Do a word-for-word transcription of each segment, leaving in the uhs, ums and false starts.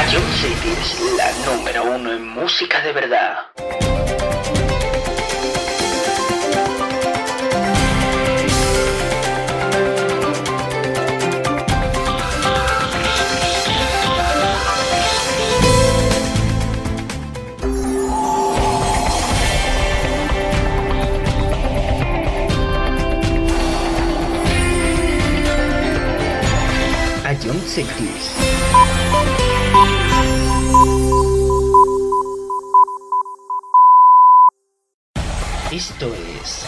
Ion City es la número uno en música de verdad. Ion City. Esto es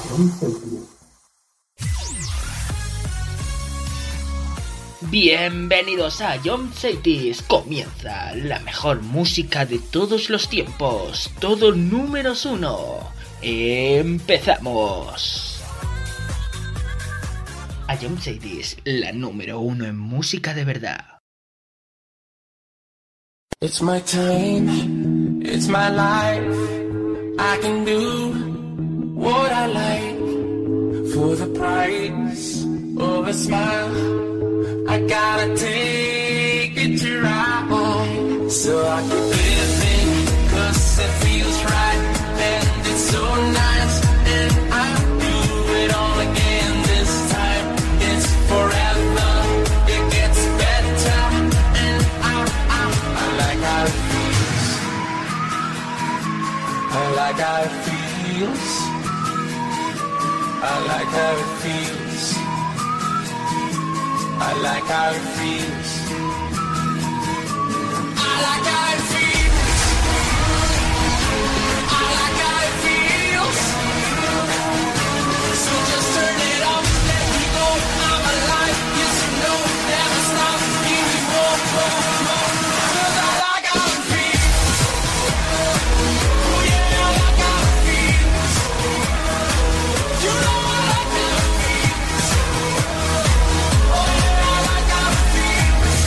bienvenidos a Ion City. Comienza la mejor música de todos los tiempos. Todo números uno. Empezamos. Ion City es la número uno en música de verdad. It's my time, it's my life. I can do what I like for the price of a smile. I gotta take it to ride, so I keep living, cause it feels right, and it's so nice, and I do it all again this time. It's forever, it gets better, and I, I, I like how it feels. I like how it feels. I like how it feels. I like how it feels. I like how it feels. I like how it feels. So just turn it off, let me go. I'm alive, yes you know, never stop, give me more, more, more. Cause I like how it feels. Oh yeah, I like how it feels. You know I like how it feels. Oh yeah, I like how it feels.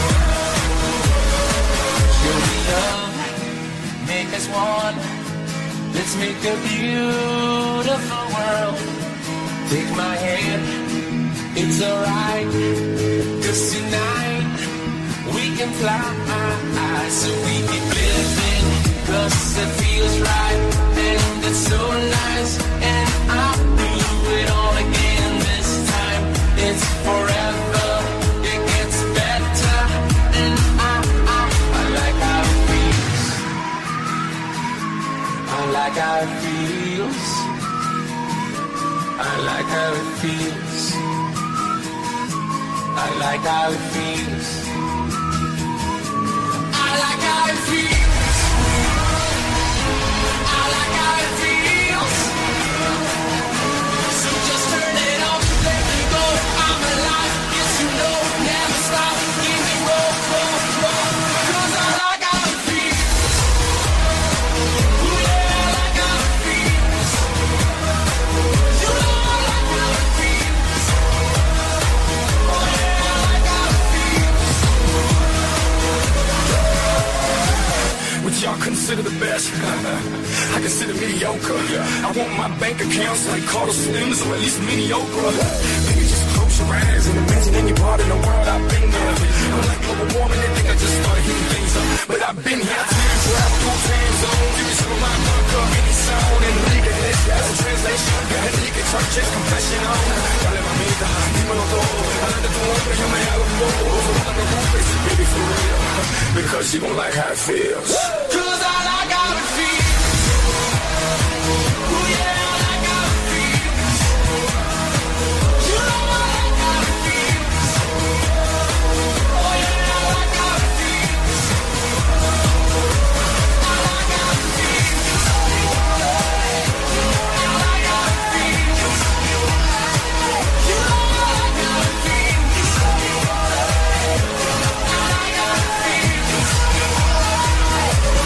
Show me love, make us one. Let's make a beautiful world. Take my hand, it's alright. Cause tonight we can fly. So we keep living, cause it feels right, and it's so nice, and I'll do it all again this time. It's forever, it gets better, and I, I, I like how it feels. I like how it feels. I like how it feels. I like how it feels. I like how it feels. I like how it feels. So just turn it off, let me go. I'm alive, yes you know, never stop. Give me more, more, more. Cause I like how it feels. Ooh yeah, I like how it feels. You know I like how it feels. Oh yeah, I like how it feels. What y'all consider the best? I consider mediocre. I want my bank accounts like Carter Slims or at least mediocre. Maybe just close your eyes and imagine any part in the world I've been there. I'm like global warming, they think I just started heating things up. But I've been here time, travel through time zones. Give me some of my marker, any sound and leave it. That's a translation. Got a nigga churches, confession on. Dale mamita, dímelo todo. Adelante tu hombre, yo me hago bobo. No te preocupes, baby, for real. Because you gon' like how it feels. Cause I like how it feels. Ooh yeah, I like how it feels. You know I like how it feels. Oh yeah, I like how it feels. I like how it feels. I like how it feels. You know I like how it feels. I like how it feels.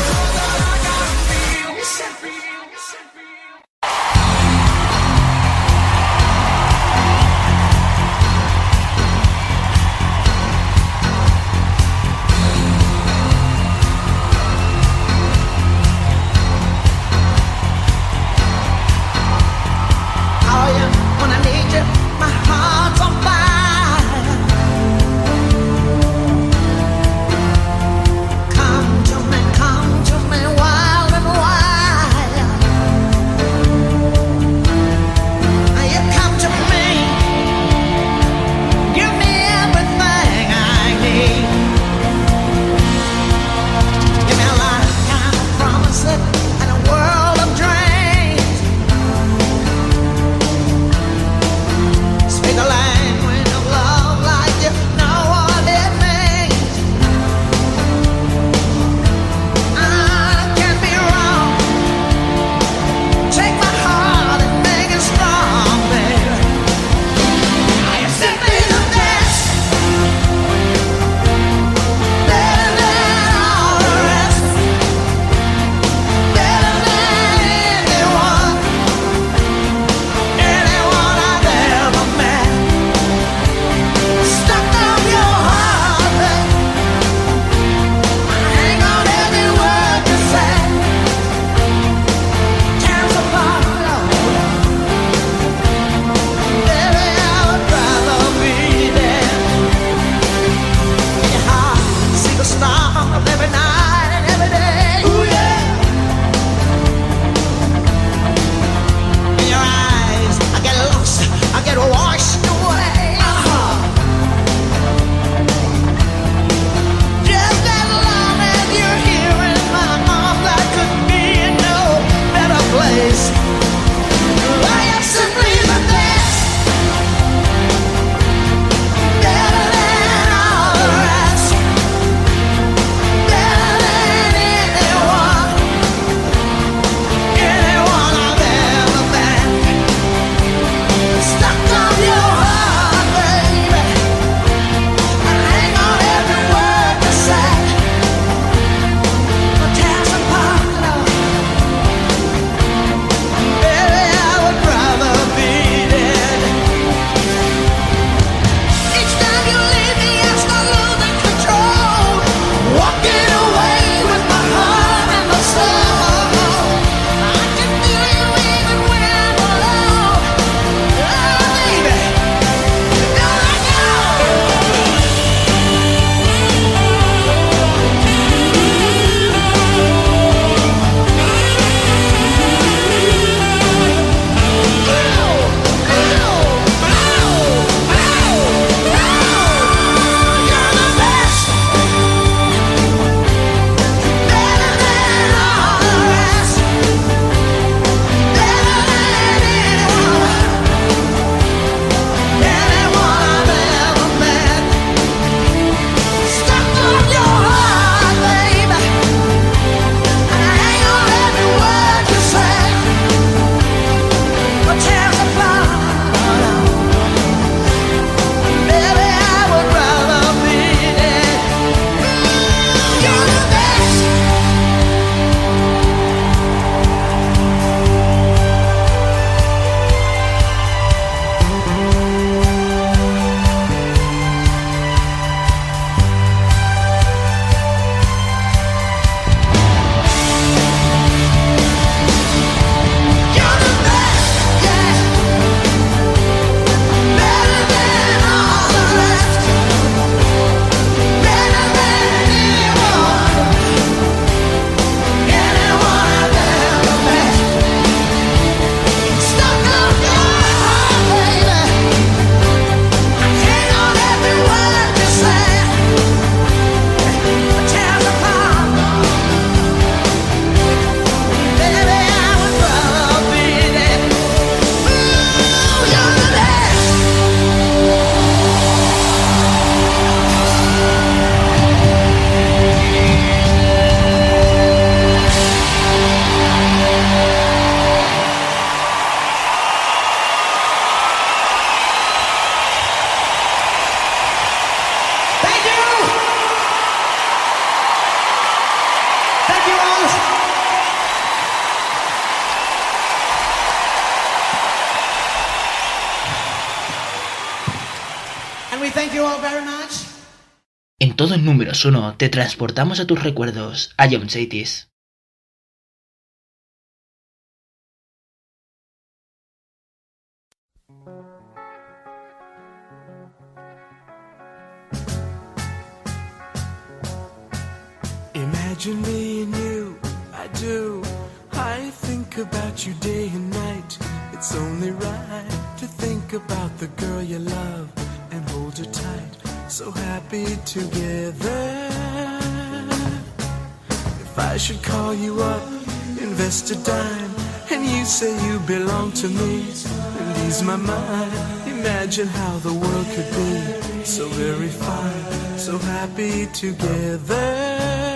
all very much. En todos números uno te transportamos a tus recuerdos, a John Cities. Imagine me and you, I do. I think about you day and night. It's only right to think about the girl you love and hold her tight. So happy together. If I should call you up, invest a dime, and you say you belong to me, it ease my mind. Imagine how the world could be so very fine, so happy together.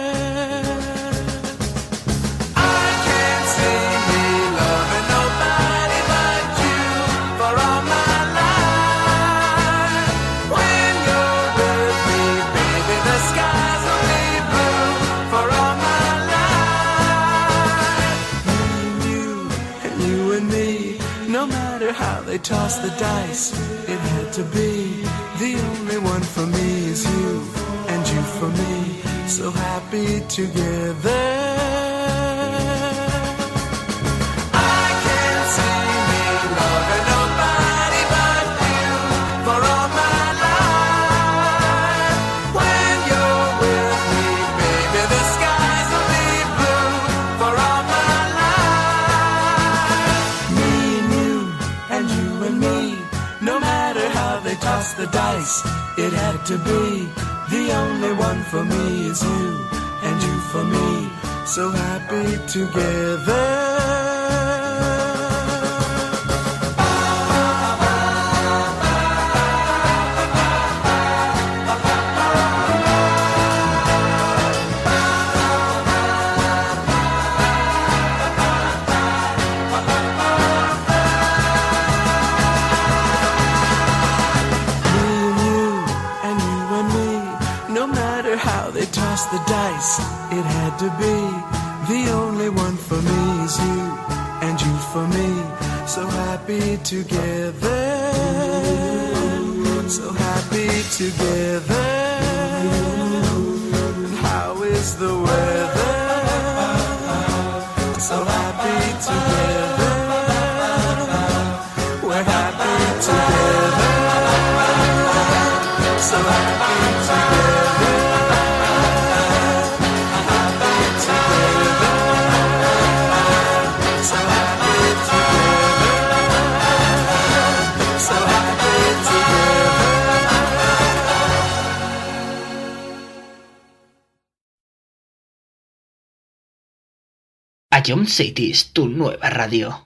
They toss the dice, it had to be. The only one for me is you, and you for me, so happy together. I can't see me loving nobody but you for all my life. When you're with me, baby, the skies will be blue for all my life. Me and you, and you and me, no matter how they toss the dice, it had to be. The only one for me is you, and you for me, so happy together. The dice, it had to be. The only one for me is you, and you for me, so happy together, so happy together. How is the weather? So happy together. We're happy together, so happy together. A John Cities, tu nueva radio.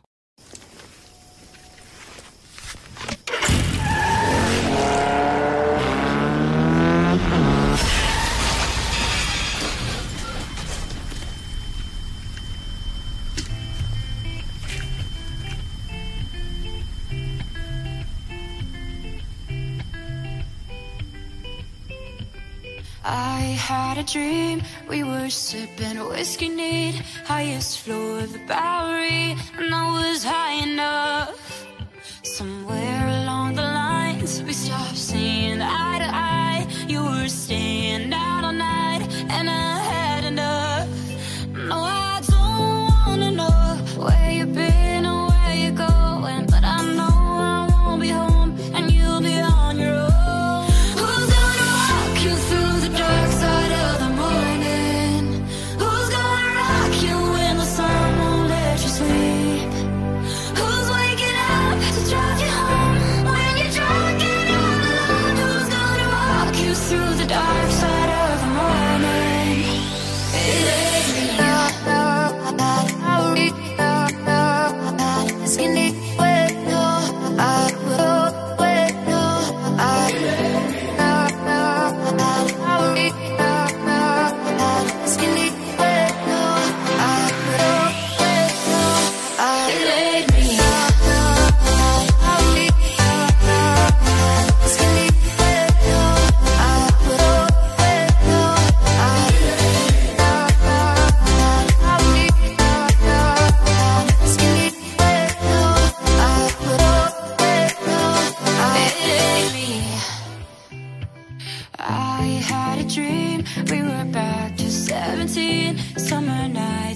I had a dream, we were sipping whiskey neat, highest floor of the Bowery, and I was high enough. Somewhere along the lines, we stopped seeing eye to eye. You were staying out all night, and I had enough. No, I don't wanna know where you've been or where you're going, but I know I won't be home, and you'll be on your own. Who's gonna walk you through the dark side of the morning? Who's gonna rock you when the sun won't let you sleep? Who's waking up to drive you home?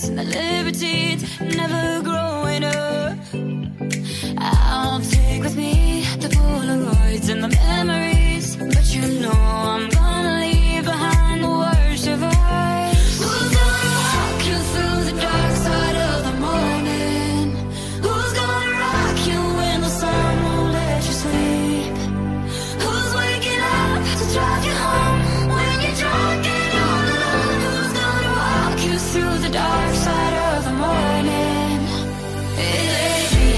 and the libertines, never growing up. I'll take with me the Polaroids and the memories, but you know I'm gonna leave behind the worst of us. Who's gonna walk you through the dark side of the morning? Who's gonna rock you when the sun won't let you sleep? Who's waking up to drive you home when you're drunk and all alone? Who's gonna walk you through the dark side of the morning? It ain't me.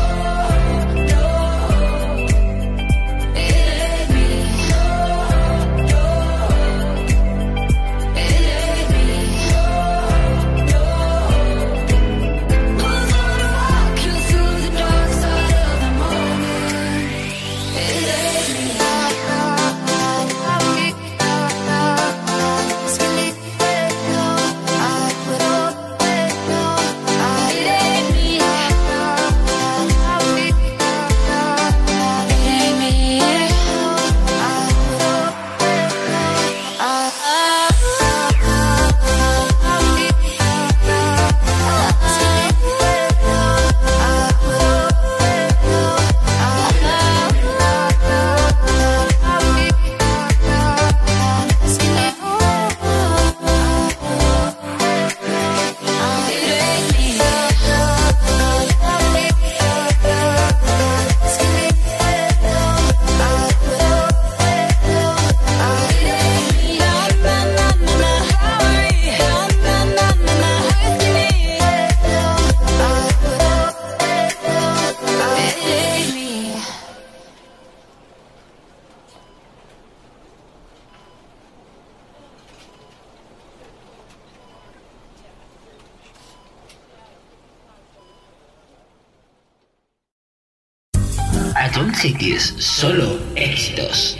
Don't Take This, solo éxitos.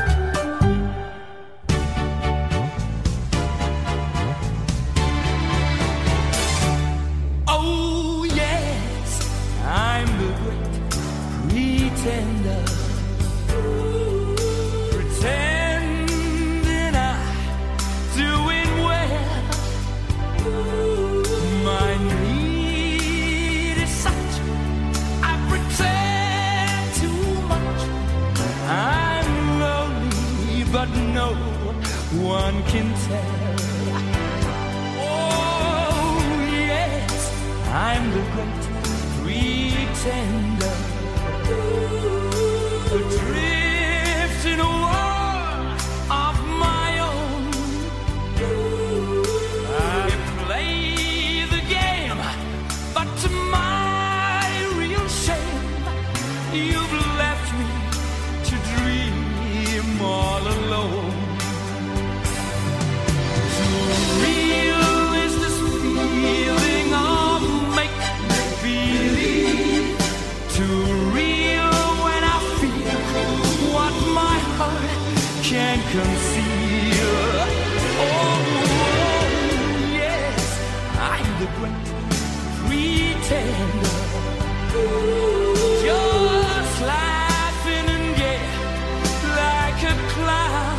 Oh yes, I'm the great pretender, pretending I'm doing well. My need is such, I pretend too much. I'm lonely, but no one can tell. Oh yes, I'm the great pretender, adrift in a world of my own. I play the game, but to my real shame, you've left me to dream all alone. Too real is this feeling of make-believe. Too real when I feel what my heart can't conceal. Oh, yes, I'm the great pretender, just laughing and gay like a clown.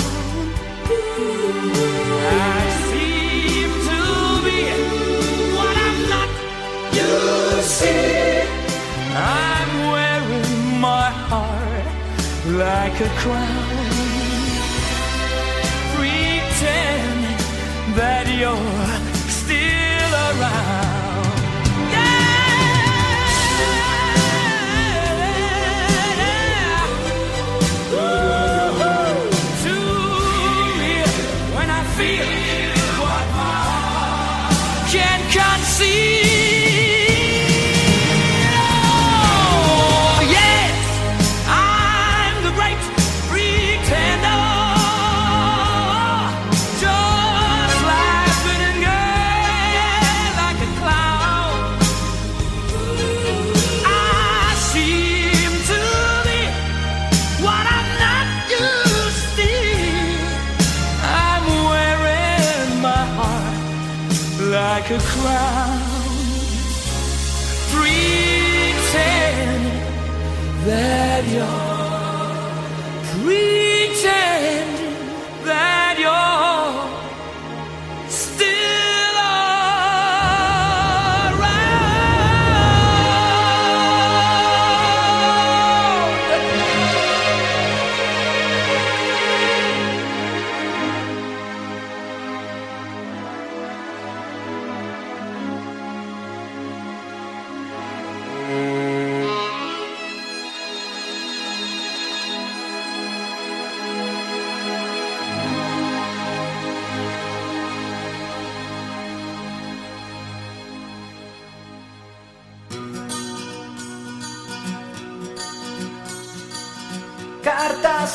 I seem to be what I'm not. You see, I'm wearing my heart like a crown, pretending that you're still around. Yeah. Too real when I feel what my heart can't conceive. Like a crown, pretend that you're, pretend that you're still around.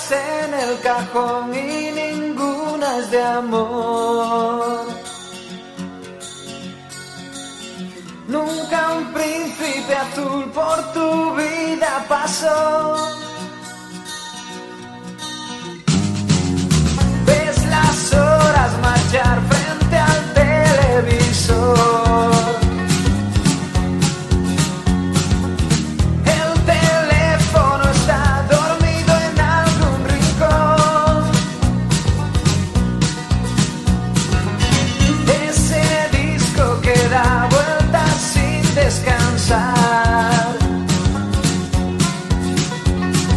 en el cajón y ninguna es de amor. Nunca un príncipe azul por tu vida pasó. Ves las horas marchar frente al televisor. El teléfono está dormido en algún rincón. Ese disco que da vueltas sin descansar.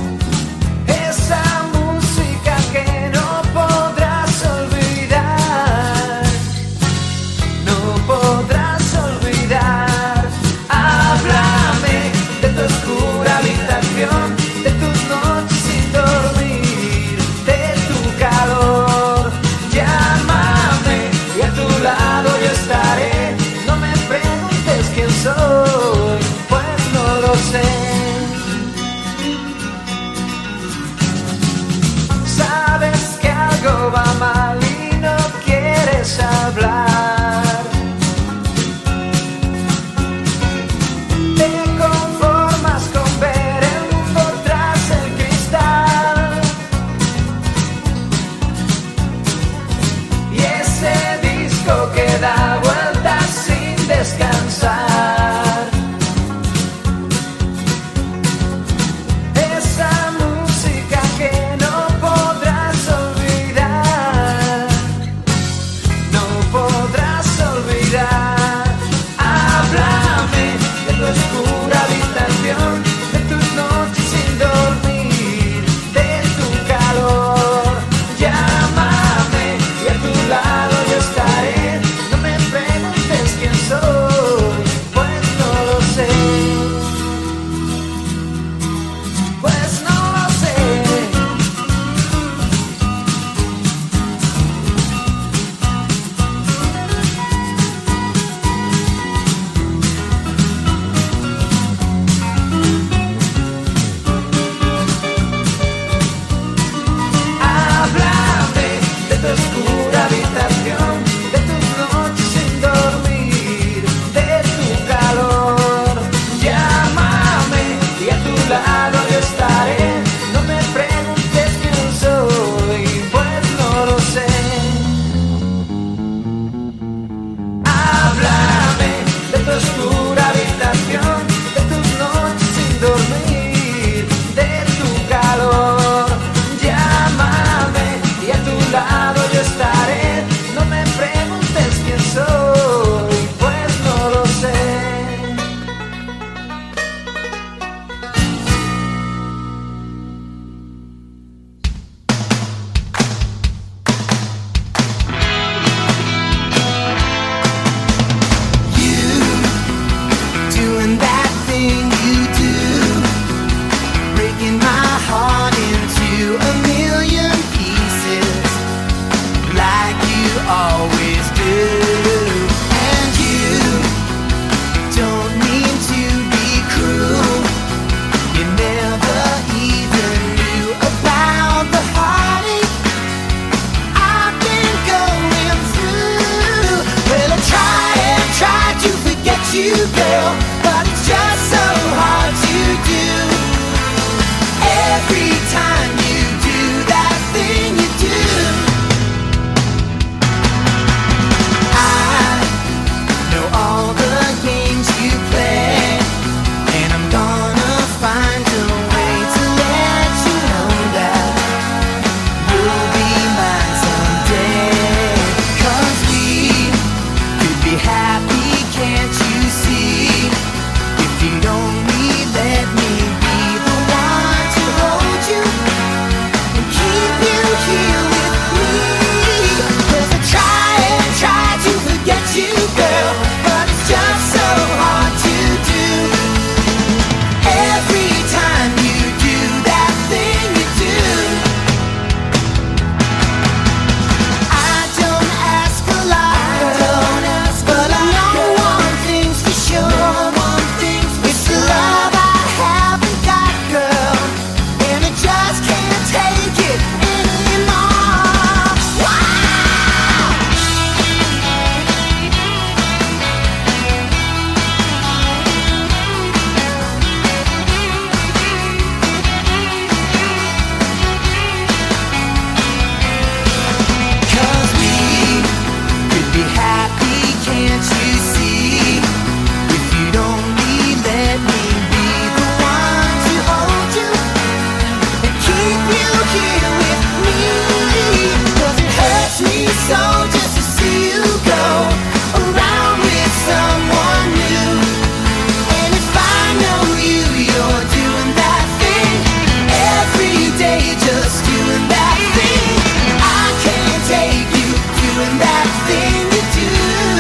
that thing you do.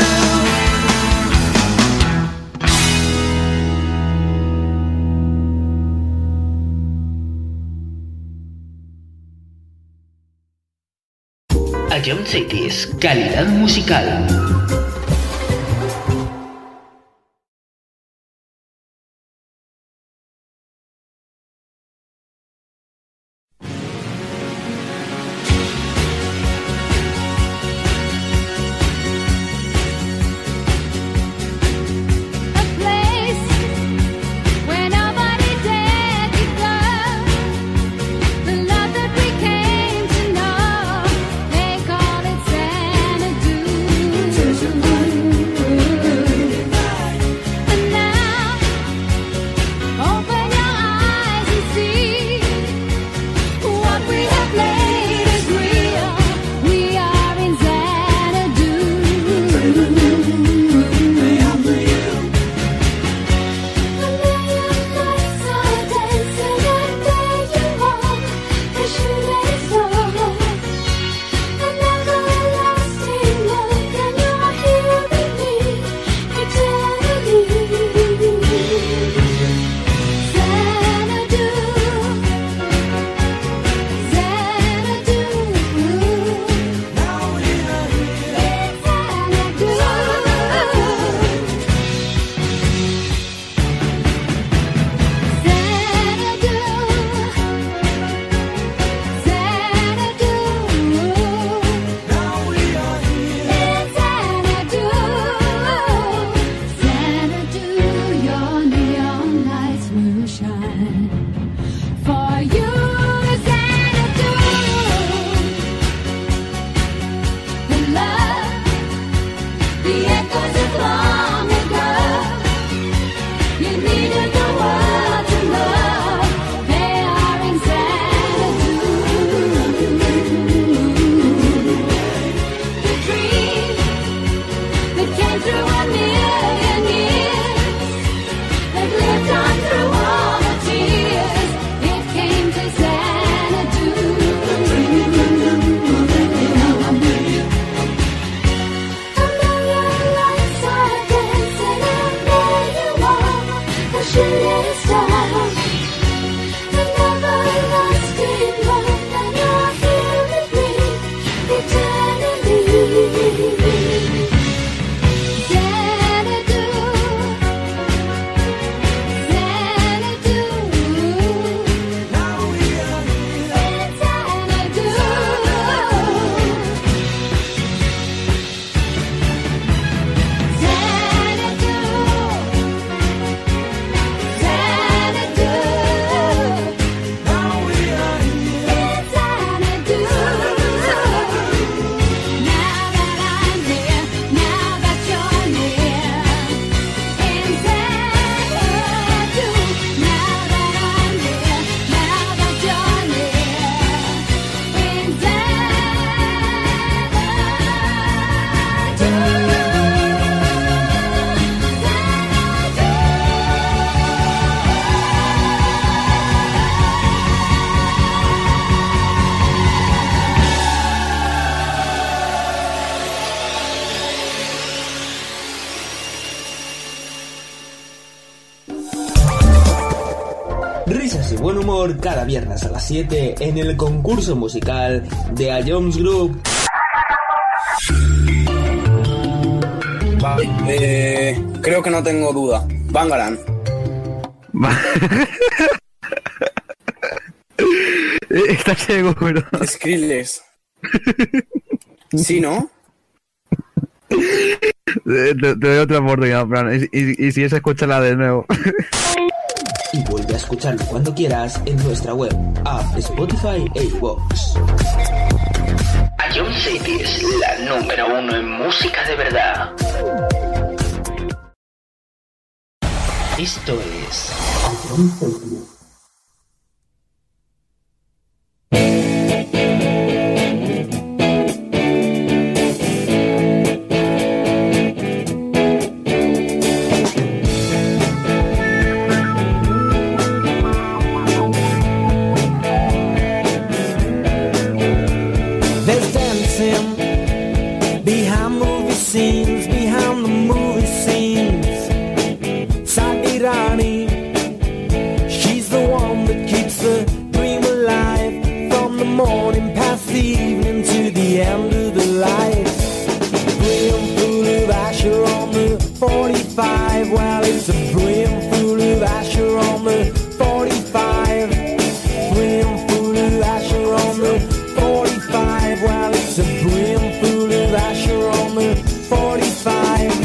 Ion Cities, calidad musical. Risas y buen humor cada viernes a las siete en el concurso musical de A Jones Group. Vale, eh, creo que no tengo duda. Bangaran. ¿Estás seguro? Skrillex. ¿Sí, no? Te, te doy otra oportunidad, Fran. Y, y, y si es, escúchala de nuevo. Y vuelve a escucharlo cuando quieras en nuestra web, app, Spotify e iVoox. Ion Cities, la número uno en música de verdad. Esto es Ion Cities. Behind behind movie scenes, behind the movie scenes. Sadi Rani, she's the one that keeps the dream alive, from the morning past the evening to the end of the light. Brimful of Asher on the forty-five, well it's a brimful of Asher on the forty-five. Brimful of Asher on the forty-five, well it's a brimful of Asher on the forty-five.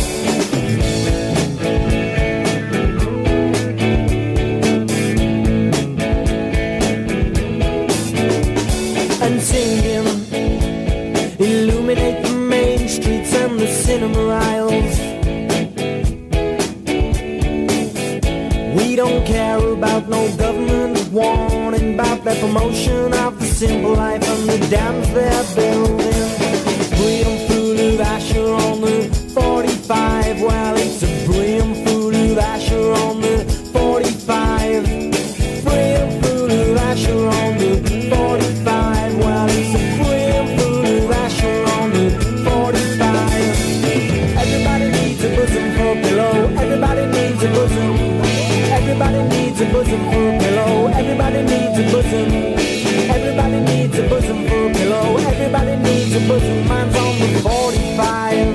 And singing, illuminate the main streets and the cinema aisles. We don't care about no government warning about the promotion of the simple life and the dams they're building. Brimful of Asher on the forty-five, well it's a brimful of Asher on the forty-five. Brimful of Asher on the forty-five, well it's a brimful of Asher on the forty-five. Everybody needs a bosom for a pillow, everybody needs a bosom. Everybody needs a bosom for a pillow, everybody needs a bosom. Everybody needs a bosom for a pillow, everybody needs a bosom. Mine's on the forty-five.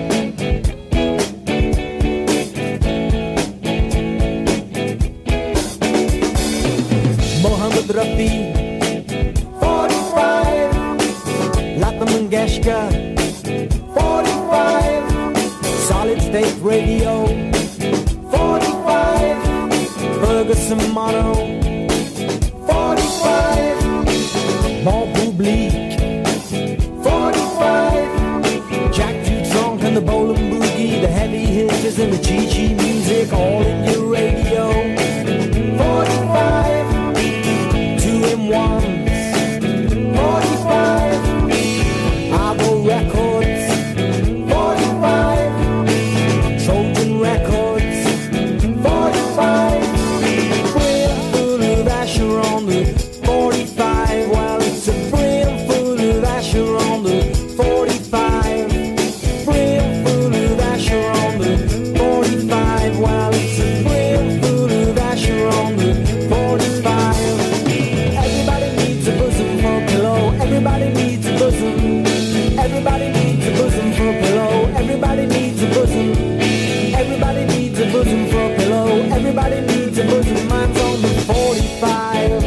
Mohammed Rafi, forty-five. Lata Mangeshkar, forty-five. Solid State Radio, forty-five. Ferguson Mono, forty-five. Bon Public, forty-five. Jack Too Drunk and the Bowling Boogie, the heavy hitters and the Chi-Chi music, all in your radio, forty-five. Two in ones, forty-five. Abo Records, forty-five. Trojan Records, forty-five. Brimful of Asher on the forty-five, well it's a brimful of Asher on the forty-five. Brimful of Asher on the forty-five, well it's a brimful of Asher on the forty-five. Everybody needs a bosom for a pillow, everybody needs a bosom. Everybody needs a bosom for a pillow, everybody needs a bosom. Everybody needs a bosom for a pillow, everybody needs a bosom. Mine's on the forty-five.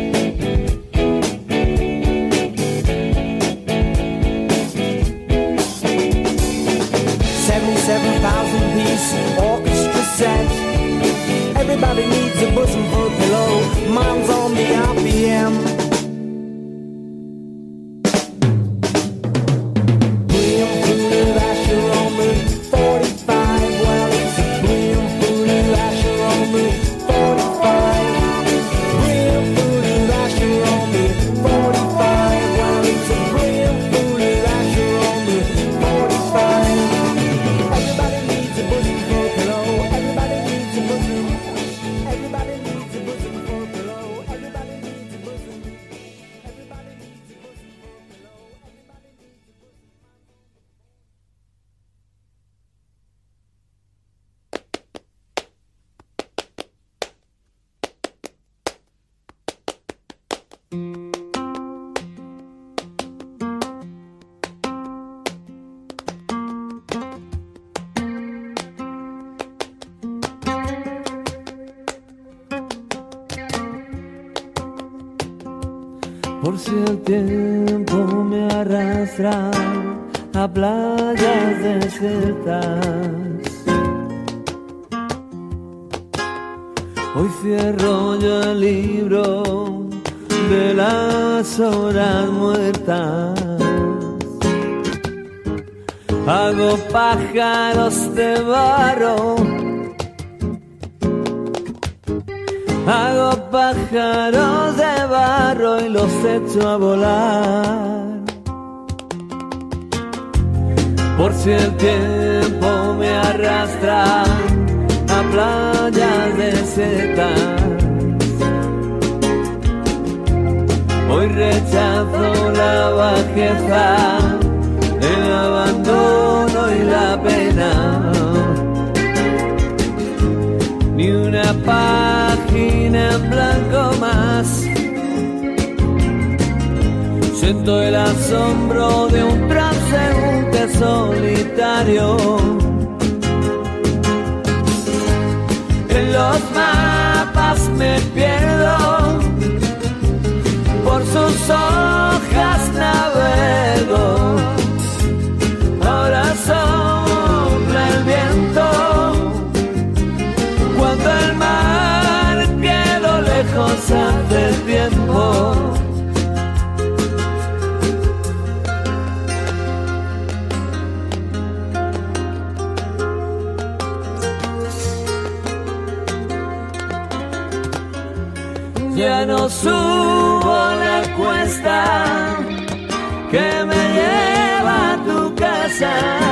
seventy-seven thousand piece orchestra set. Everybody needs a bosom for a pillow, mine's on the R P M. Brimful of Asher on the forty-five, well it's a brimful of Asher on the forty-five. Brimful of Asher on the forty-five, well it's a brimful of Asher on the forty-five. Everybody needs a bosom for a pillow, everybody needs a bosom. Everybody needs a bosom for a pillow, everybody needs a bosom. Everybody needs a bosom for a pillow, everybody needs a bosom. Por si el tiempo me arrastra a playas desiertas, hoy cierro yo el libro de las horas muertas. Hago pájaros de barro, hago pájaros de barro y los echo a volar. Por si el tiempo me arrastra a playas desiertas, hoy rechazo la bajeza, el abandono Siento el asombro de un transeúnte solitario. En los mapas me pierdo, por sus hojas navego. Ahora sopla el viento, cuando el mar quedó lejos hace tiempo. Ya no subo la cuesta que me lleva a tu casa.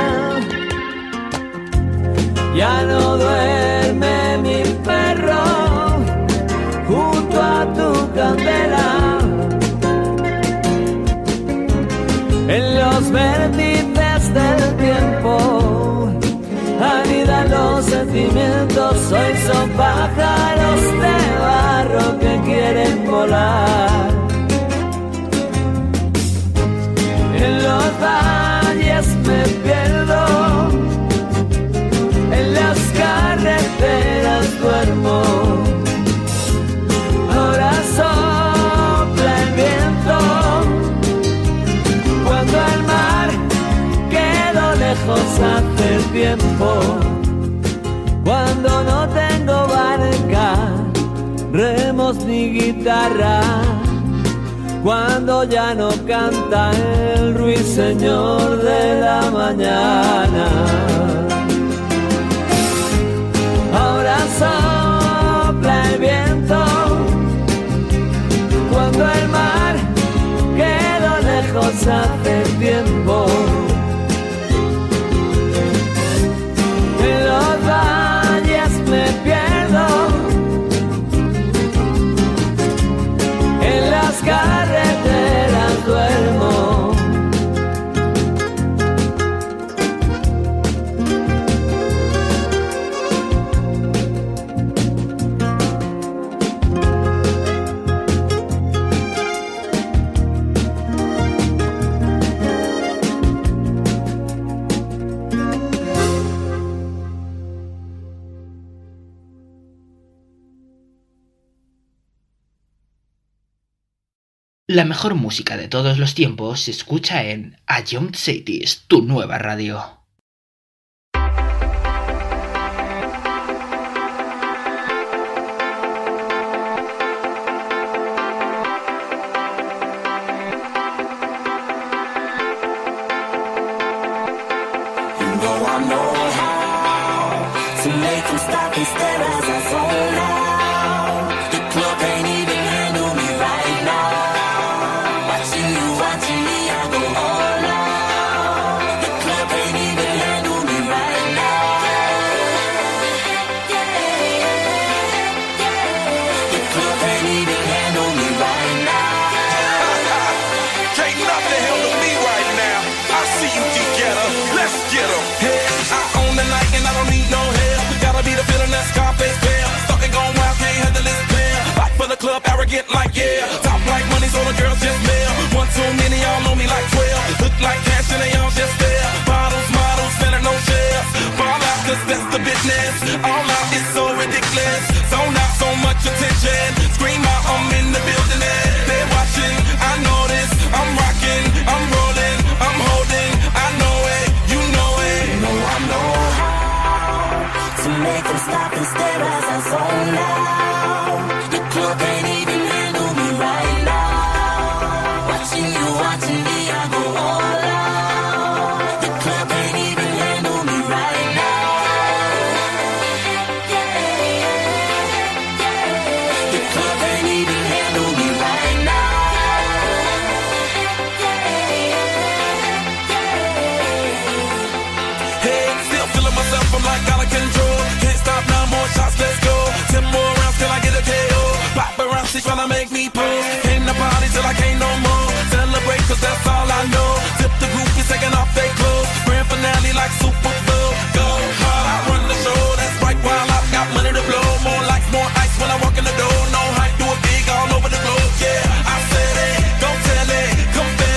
Ya no duerme mi perro junto a tu candela. En los vértices del tiempo anidan los sentimientos. Hoy son pájaros de barro que quieren volar. En los valles me pierdo, en las carreteras duermo. Ahora sopla el viento, cuando el mar quedó lejos hace tiempo. Cuando no tengo barca, remos ni guitarra, cuando ya no canta el ruiseñor de la mañana. Ahora sopla el viento, cuando el mar quedó lejos hace tiempo. En los valles me pierdo, en las carreteras duermo. La mejor música de todos los tiempos se escucha en A Young Cities, tu nueva radio. Club arrogant like yeah, top like money so the girls just mail. One too many, y'all know me like twelve. Look like cash and they all just there. Bottles, models, better no shares. Fall out cause that's the business. All out is so ridiculous. Zone out so much attention. Scream out, I'm in the building and they're watching. I know this, I'm rocking, I'm rolling, I'm holding. I know it, you know it. You know I know how to make them stop and stare as I zone out. Club can't even handle me right now. Watching you, watching me, I go all out. The club can't even handle me right now. Yeah, yeah, yeah. The club can't even handle me right now. Yeah, yeah, yeah. Hey, still feeling myself, I'm like out of control. Can't stop, nine more shots, let's go. Ten more rounds till I get a K O. Pop around, she tryna make me pose. Came to party till I can't no more. Celebrate cause that's all I know. Tip the groupies taking off their clothes. Grand finale like Super Bowl. Go hard, I run the show. That's right, while I've got money to blow. More lights, more ice when I walk in the door. No hype, do it big all over the globe. Yeah, I said it, go tell it, come back.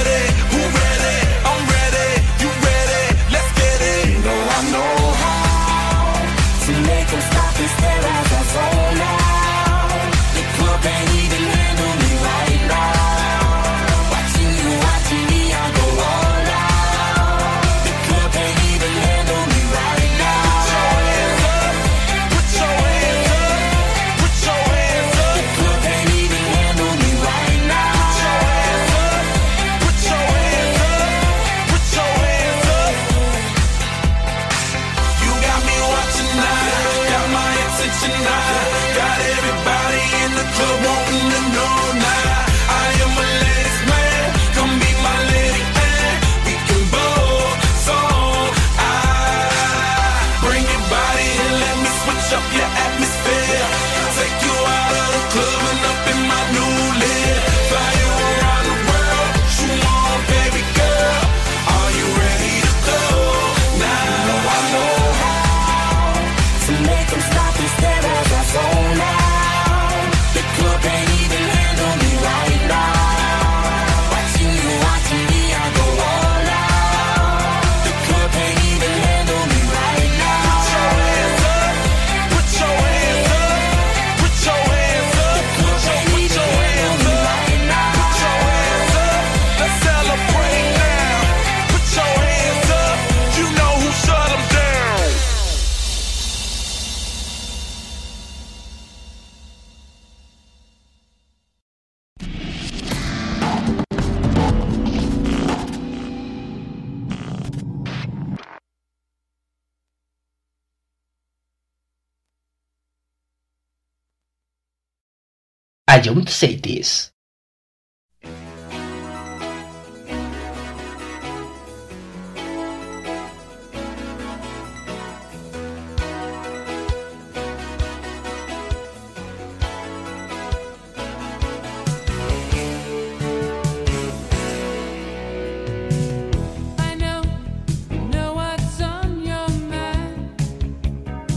attention high. Got everybody in the club wanting to know now. I am a ladies man, come be my lady man. We can both song. I bring your body and let me switch up your atmosphere. Take you out of the club and up in my new lid. Fly you around the world, you on, baby girl. Are you ready to go? Now I know how to make them stop and stare as I zone out. The club ain't even handle me right now. Watching you, watching me, I go all out. The club ain't even handle me right now. Put your hands up, put your hands up, put your hands up, put your, put your hands up, right now. Put your hands up, let's celebrate now. Put your hands up, you know who shut 'em down. I don't say this. I know, know what's on your mind,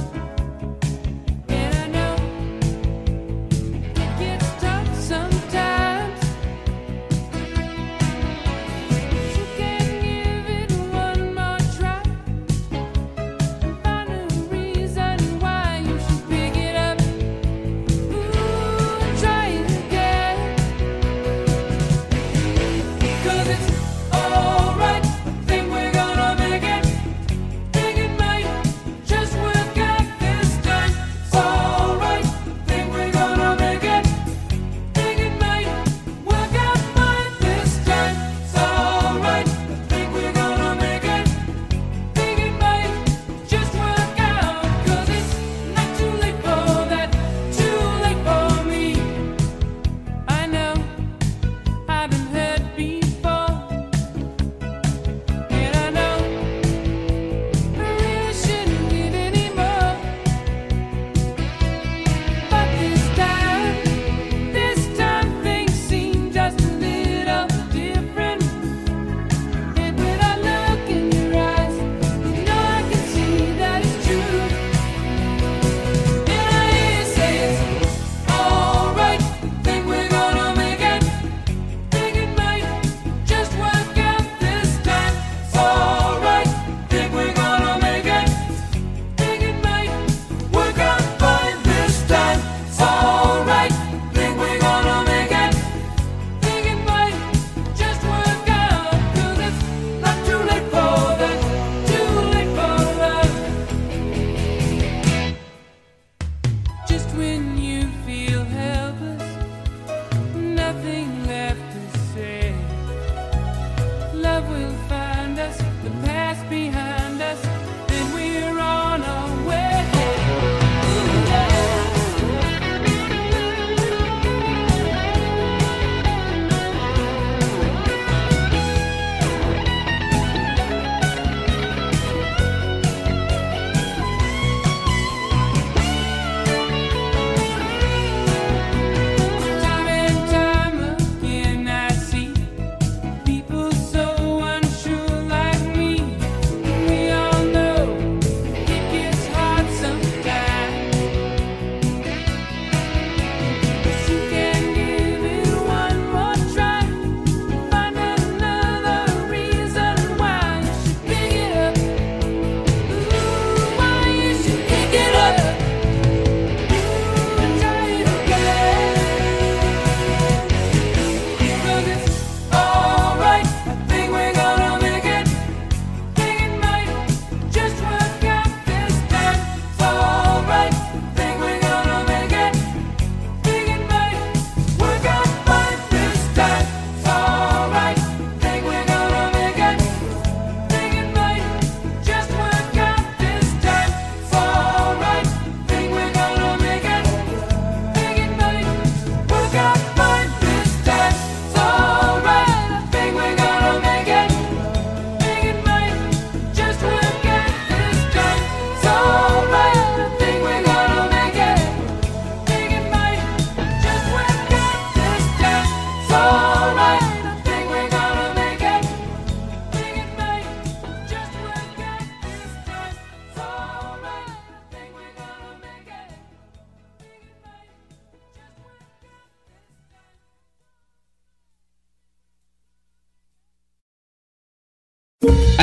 and I know it gets tough sometimes.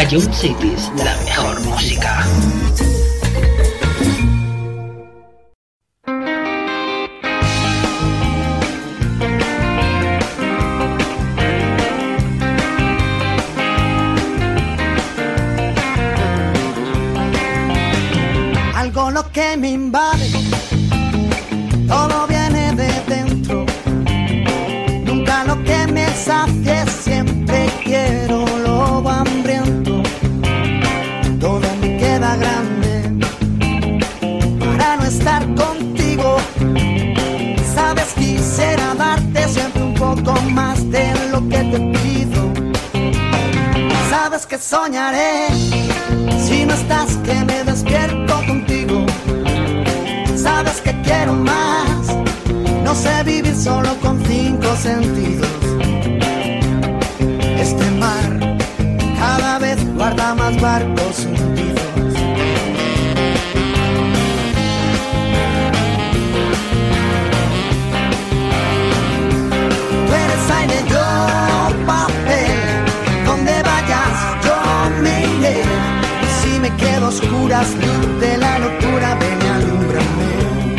Ion Cities, la mejor música. Algo lo que me invade, todo viene de dentro. Nunca lo que me sacie, siempre quiero lobo hambriento. Todo me queda grande para no estar contigo. Sabes, quisiera darte siempre un poco más de lo que te pido. Sabes que soñaré si no estás, que me despierto contigo. Sabes que quiero más, no sé vivir solo con cinco sentidos. Este mar cada vez guarda más barcos hundidos. Tú eres aire, yo papel, donde vayas yo me iré. Y si me quedo a oscuras, luz de la locura, ven y alúmbrame.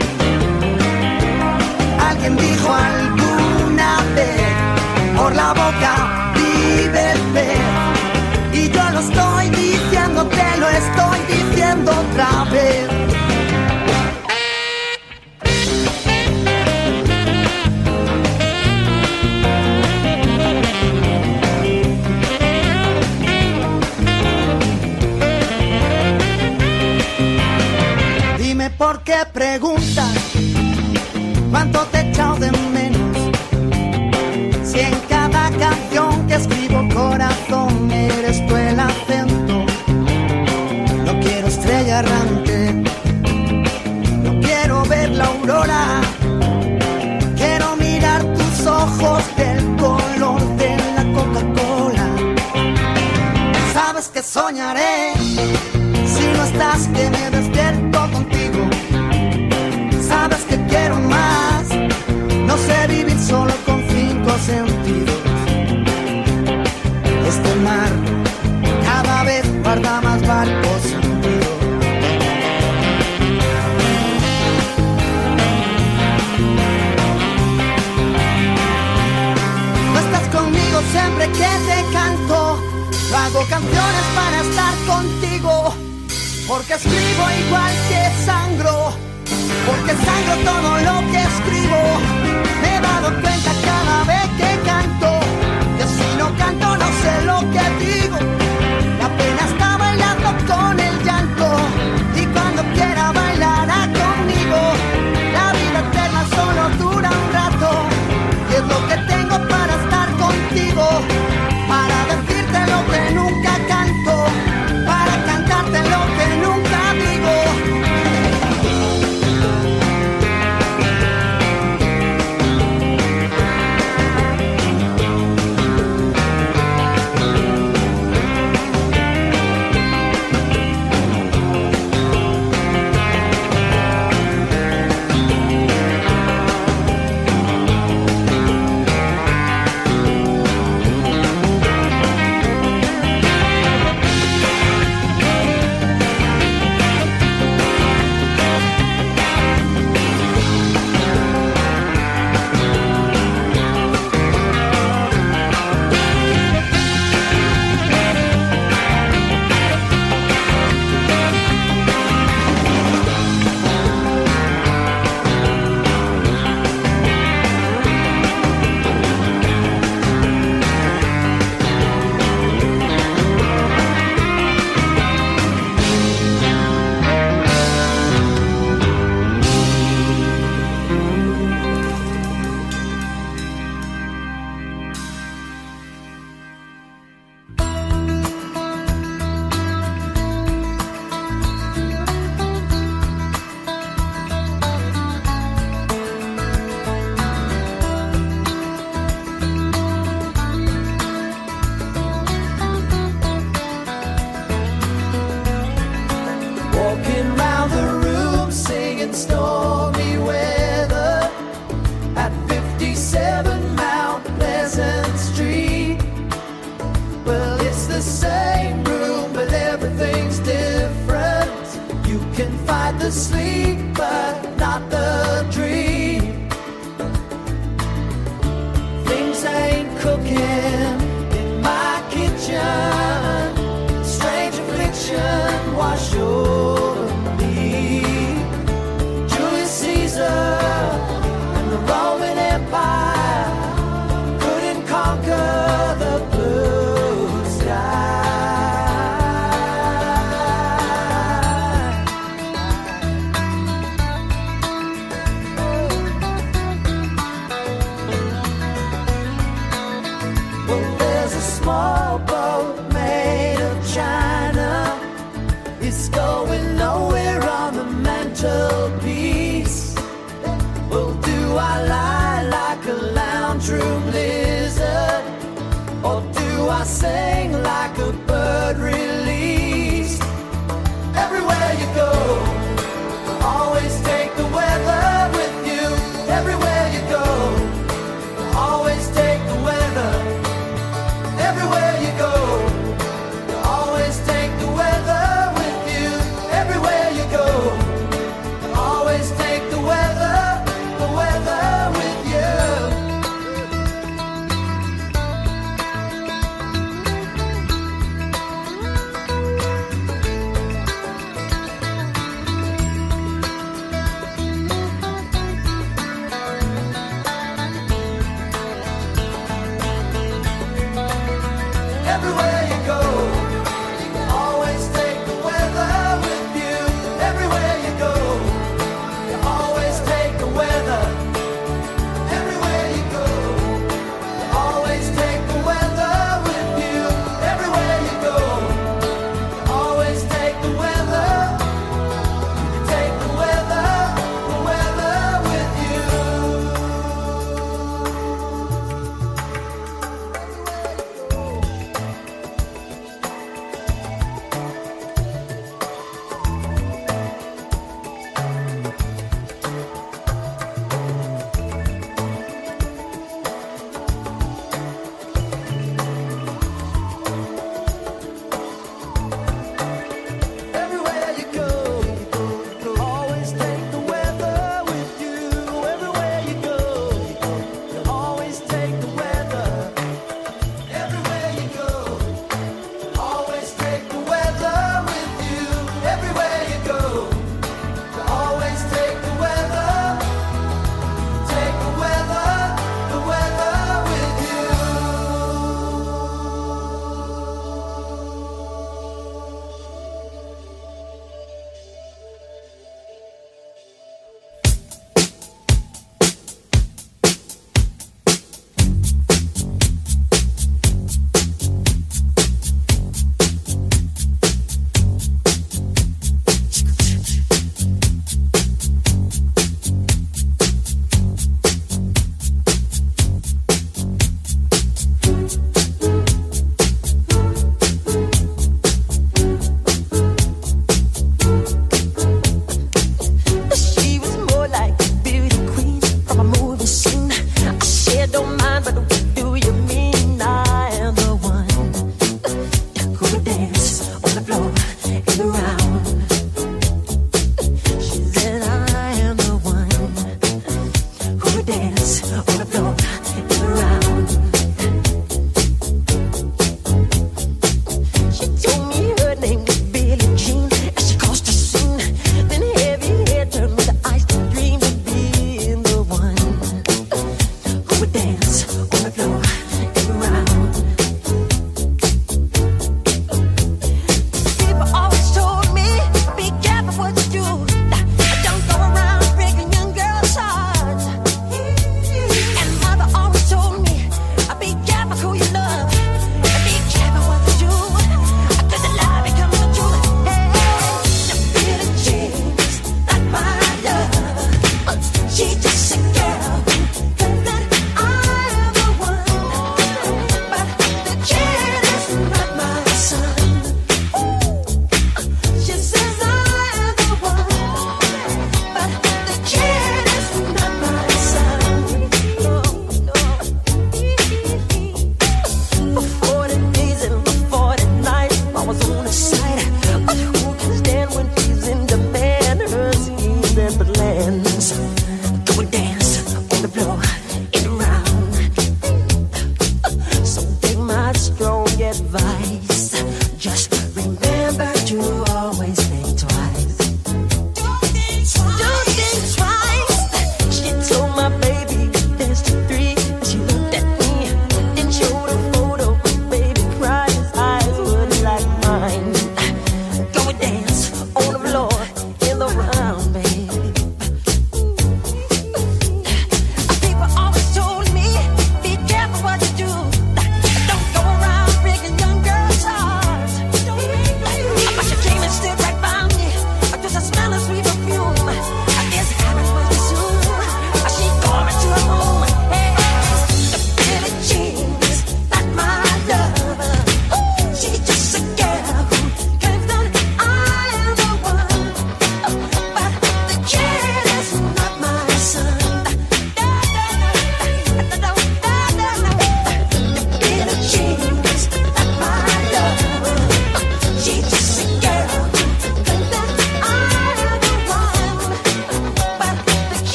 Alguien dijo alguna vez, por la boca vive el pez. Y yo lo estoy diciendo, te lo estoy diciendo otra vez. Dime por qué preguntas cuánto te he echado de menos. Si en cada canción que escribo, corazón, eres tú el acento. No quiero estrella errante, no quiero ver la aurora. Quiero mirar tus ojos del color de la Coca-Cola. Sabes que soñaré si no estás, que me despierto contigo. Sabes que quiero más, no sé vivir solo con cinco sentidos. Este mar cada vez guarda más barcos hundidos. No estás conmigo siempre que te canto. Yo hago canciones para estar contigo, porque escribo igual que sangro. Porque sangro todo lo que escribo. Me he dado cuenta cada vez que canto, que si no canto no sé lo que digo. La pena está bailando con el llanto, y cuando quiera bailará conmigo. La vida eterna solo dura un rato, y es lo que tengo para estar contigo. Para decirte lo que nunca canto, para cantarte lo que nunca digo. the sleep, but not the dream. Things ain't cooking in my kitchen. Strange affliction wash over me. Julius Caesar and the Roman Empire couldn't conquer the blue sky. Well, there's a small boat made of china. It's going nowhere on the mantelpiece. Well, do I lie like a lounge room lizard, or do I sing like a bird released? Everywhere you go, always take the weather with you. Everywhere you go, always take the weather. Everywhere you go, always take the weather with you. Everywhere you go, always take the weather, the weather with you.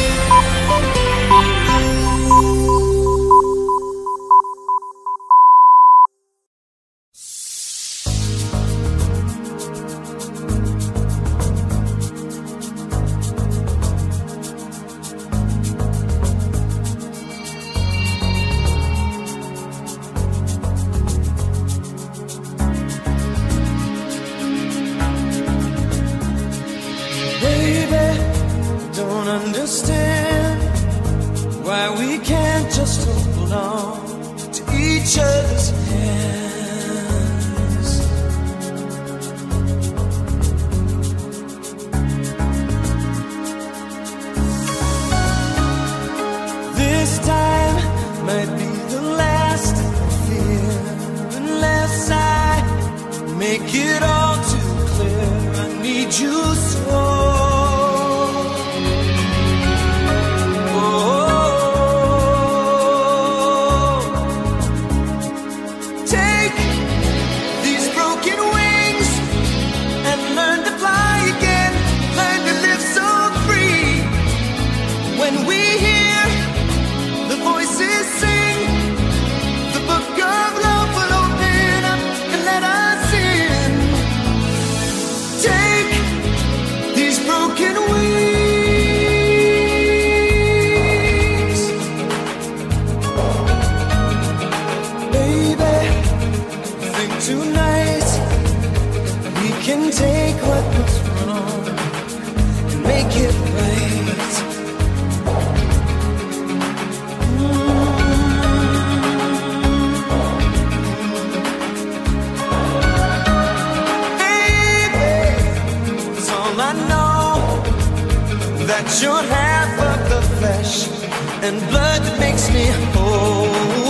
Baby, don't understand why we can't just hold on to each other's hands. This time might be the last I fear, unless I make it all too clear. I need you so. Tonight we can take what was wrong and make it right. Mm. Baby, it's all I know, that you're half of the flesh and blood that makes me whole.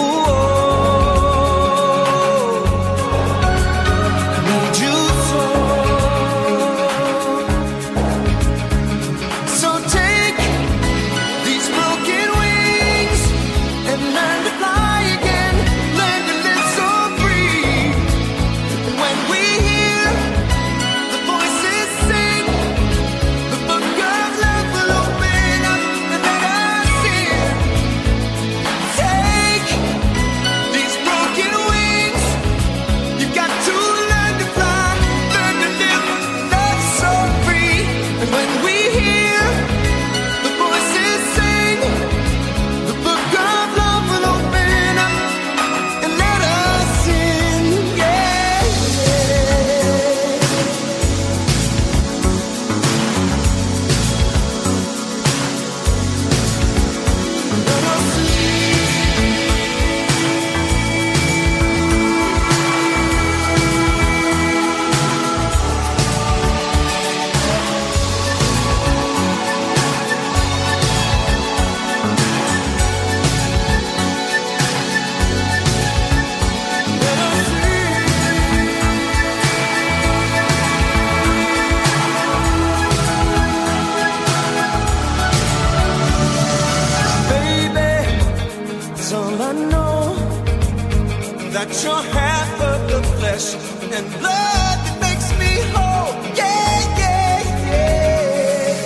That you're half of the flesh and blood that makes me whole. Yeah, yeah, yeah.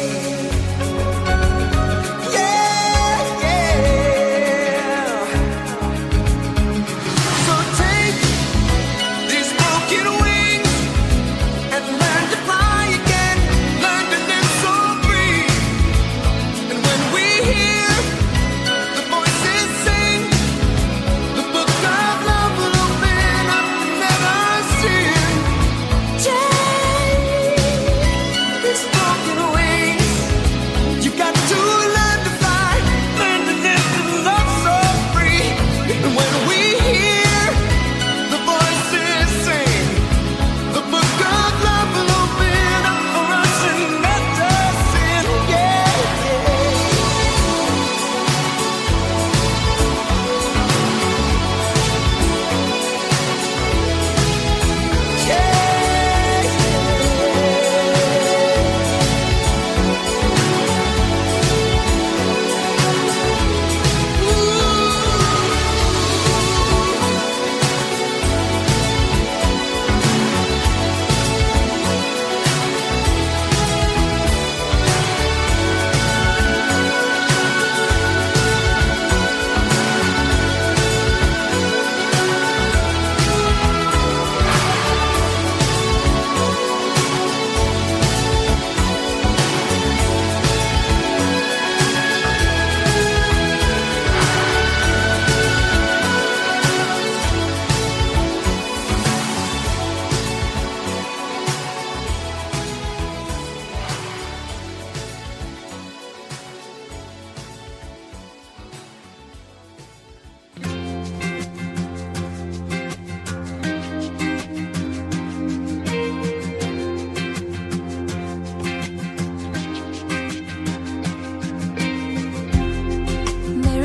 Yeah, yeah. So take these broken wings and learn to fly again. Learn to live so free. And when we hear the voices sing, the book of love will open up and let us in.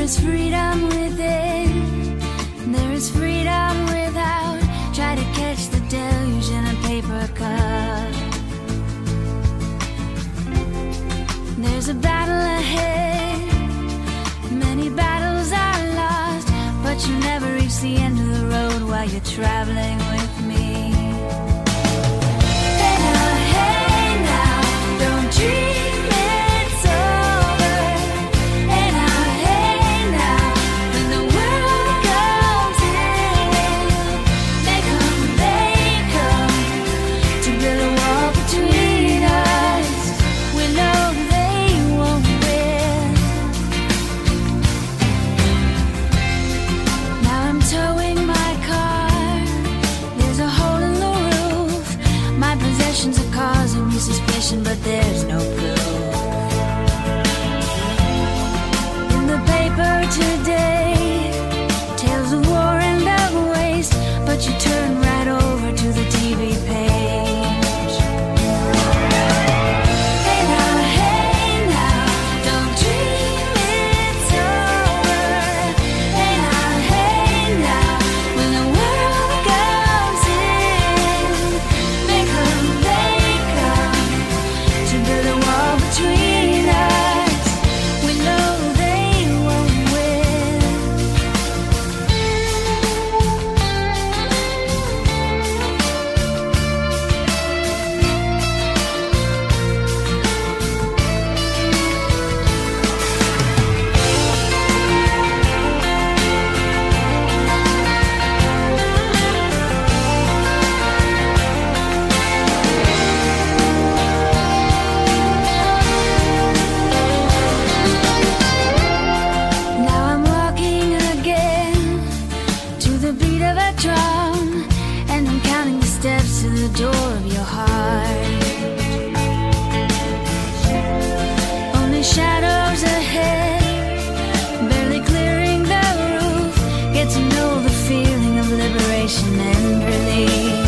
is freedom within, there is freedom without. Try to catch the deluge in a paper cup. There's a battle ahead, many battles are lost, but you never reach the end of the road while you're traveling with me. Hey now, hey now, don't dream it's over. Hey now, hey now, when the world comes in, they come, they come to build a wall between us. We know they won't win. Now I'm towing my car, there's a hole in the roof. My possessions are causing me suspicion, but there's no proof. In the paper today, tales of war and of waste, but you turn right over to the T V page. Hey now, hey now, don't dream it's over. Hey now, hey now, when the world comes in, they come, they come to build a wall between us. We know they won't win. Now I'm walking again to the beat of a drum, and I'm counting the steps to the door of your heart. Only shadows ahead, barely clearing the roof. Get to know the feeling of liberation and relief.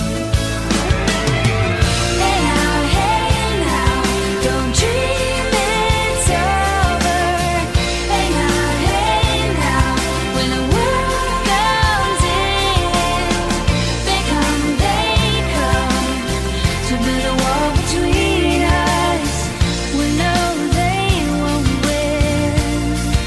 Hey now, hey now, don't dream it's over. Hey now, hey now, when the world comes in, they come, they come to build a wall between us. We know they won't win.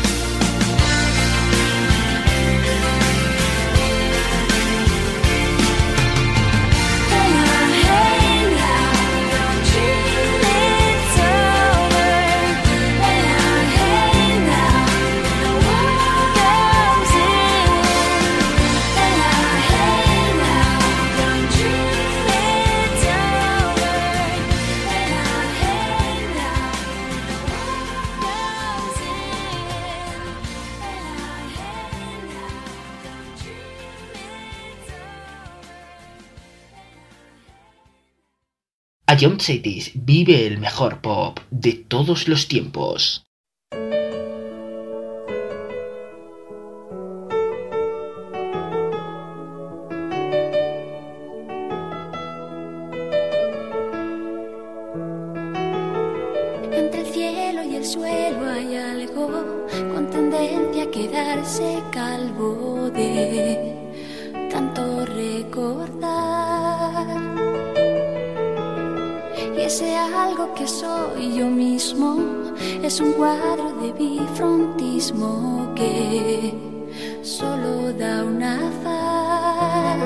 Hey now, hey now, don't dream it's over. Hey now, hey now, when the world comes in. Hey now, hey now, don't dream it's over. Hey now, hey now, when the world comes in. Hey now, hey now, don't dream it's over. Ion Cities vive el mejor pop de todos los tiempos. Entre el cielo y el suelo hay algo con tendencia a quedarse calvo de tanto recordar. Y ese algo que soy yo mismo es un cuadro de bifrontismo que solo da una faz.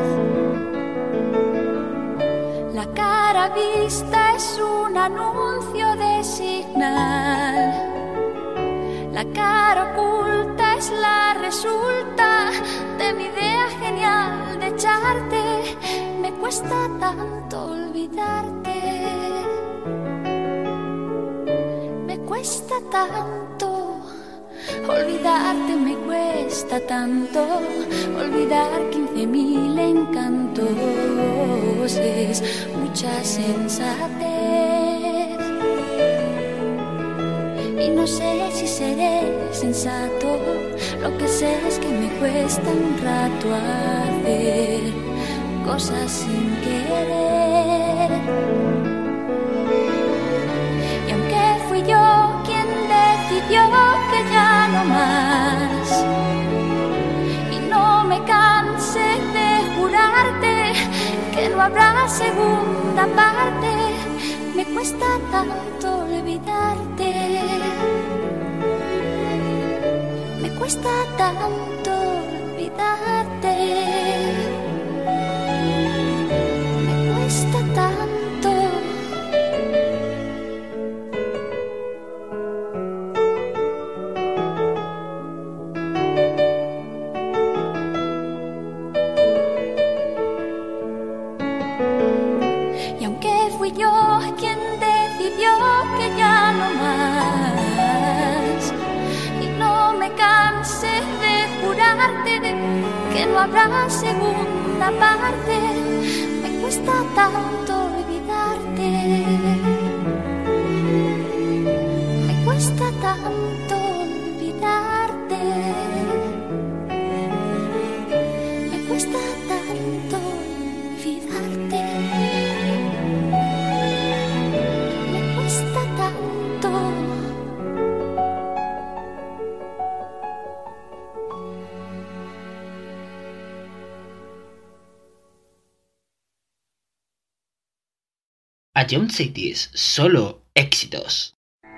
La cara vista es un anuncio de señal. La cara oculta es la resulta de mi idea genial de echarte. Me cuesta tanto olvidarte. Me cuesta tanto olvidarte, me cuesta tanto olvidar quince mil encantos. Es mucha sensatez y no sé si seré sensato. Lo que sé es que me cuesta un rato hacer cosas sin querer. Y aunque fui yo quien decidió que que ya no más. Y no me canse de jurarte que no habrá segunda parte. Me cuesta tanto olvidarte. Me cuesta tanto olvidarte. Me cuesta tanto. Y aunque fui yo quien decidió que ya no más, y no me canse de jurarte que no habrá segunda parte, me cuesta tanto olvidarte. Me cuesta tanto olvidarte. Me cuesta tanto olvidarte. Me cuesta tanto. A John Cities, solo éxitos.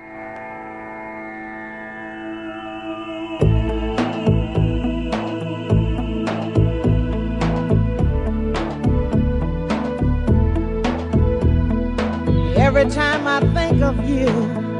Every time I think of you,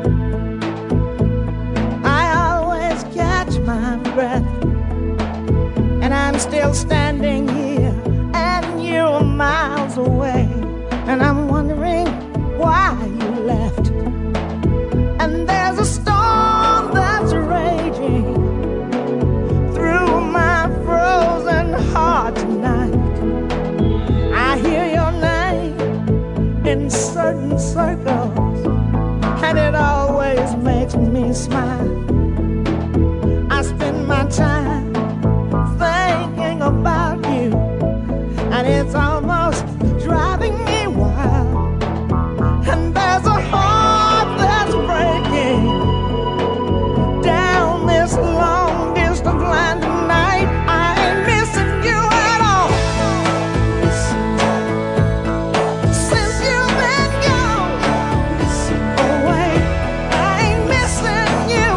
I always catch my breath. And I'm still standing here, and you're miles away. And I'm wondering why you left. And there's a storm that's raging through my frozen heart tonight. I hear your name in certain circles, and it always makes me smile. I spend my time thinking about you, and it's almost driving me wild. And there's a heart that's breaking down this long distance line tonight. I ain't missing you at all. Since you've been gone away, I ain't missing you.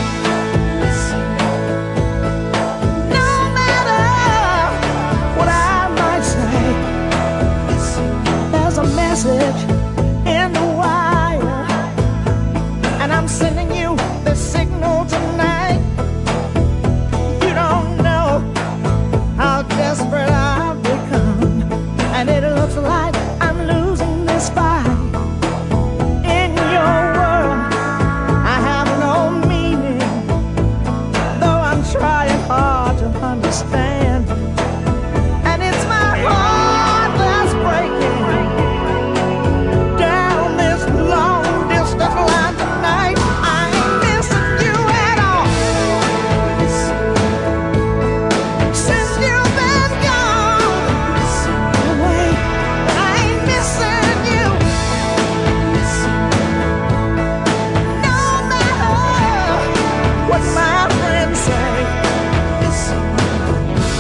No matter what I might say, there's a message in the wire, and I'm sending you the signal tonight. You don't know how desperate I've become, and it looks like I'm losing this fight. In your world, I have no meaning, though I'm trying hard to understand. And it's my heart that's breaking down this long distance line tonight. I ain't missing you at all. Since you've been gone away, I ain't missing you. No matter what my friends say,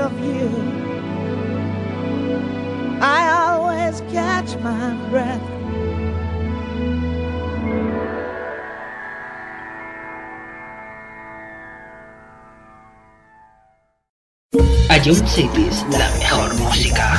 of you. I always catch my breath. Ion Cities, la mejor música.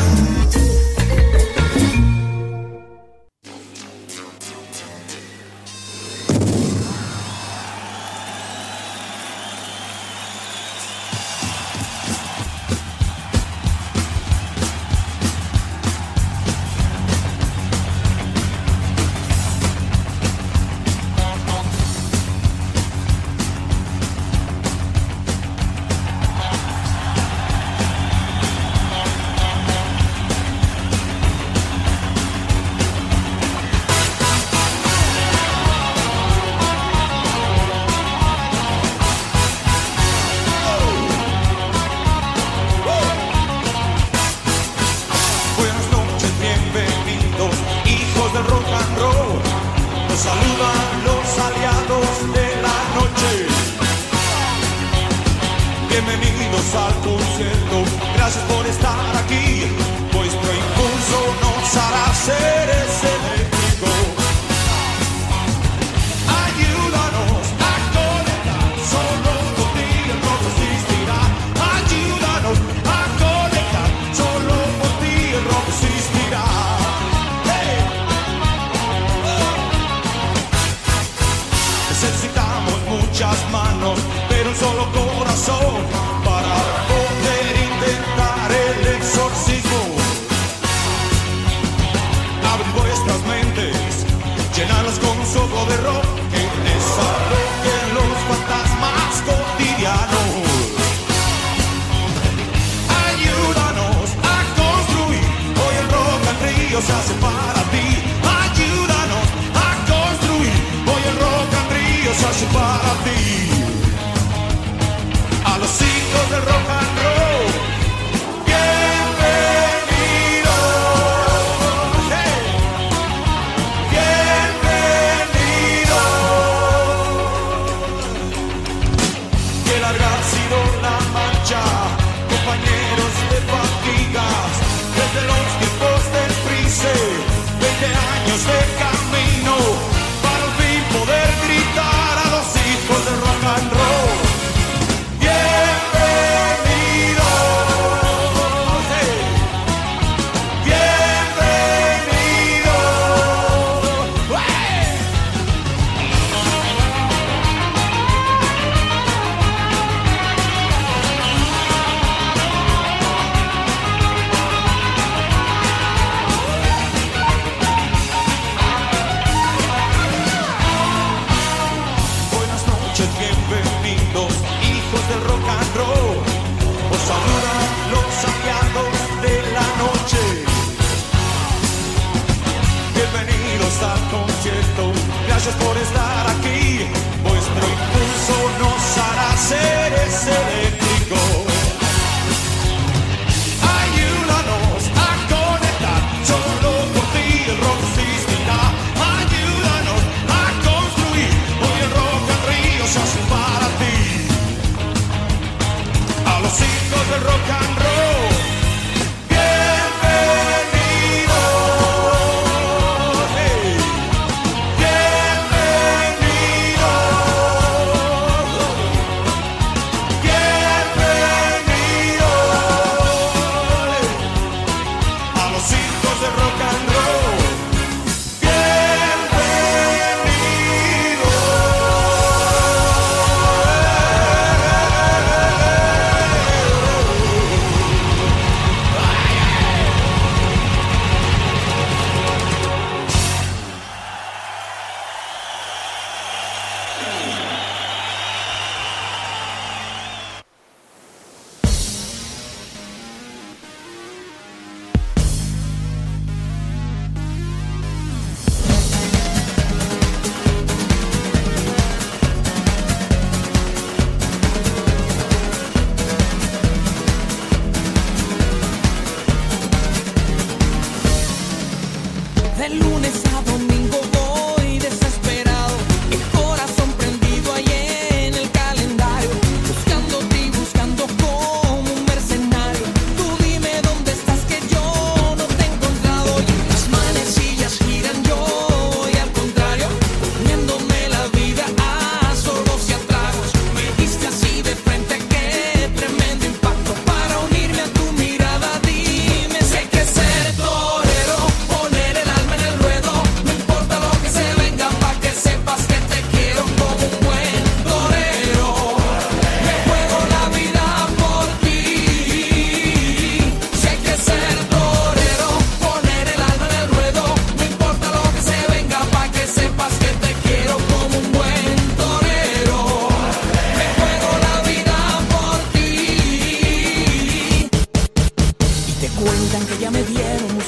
Buscándote y buscando como un mercenario.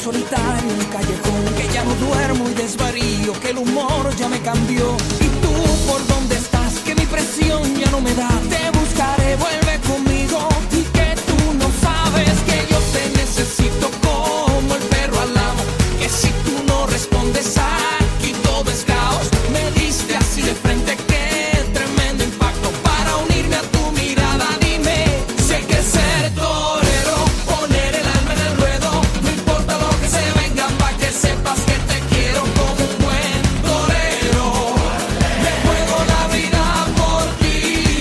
solitario en un callejón, que ya no duermo y desvarío, que el humor ya me cambió. ¿Y tú por dónde estás? Que mi presión ya no me da. Te buscaré, vuelve conmigo. Y que tú no sabes que yo te necesito como el perro al amo. Que si tú no respondes aquí todo es caos. Me diste así de frente, qué tremendo impacto. Para unirme a tu mirada, dime, sé que ser torero, poner el alma en el ruedo, no importa lo que se venga, pa' que sepas que te quiero como un buen torero. Me juego la vida por ti.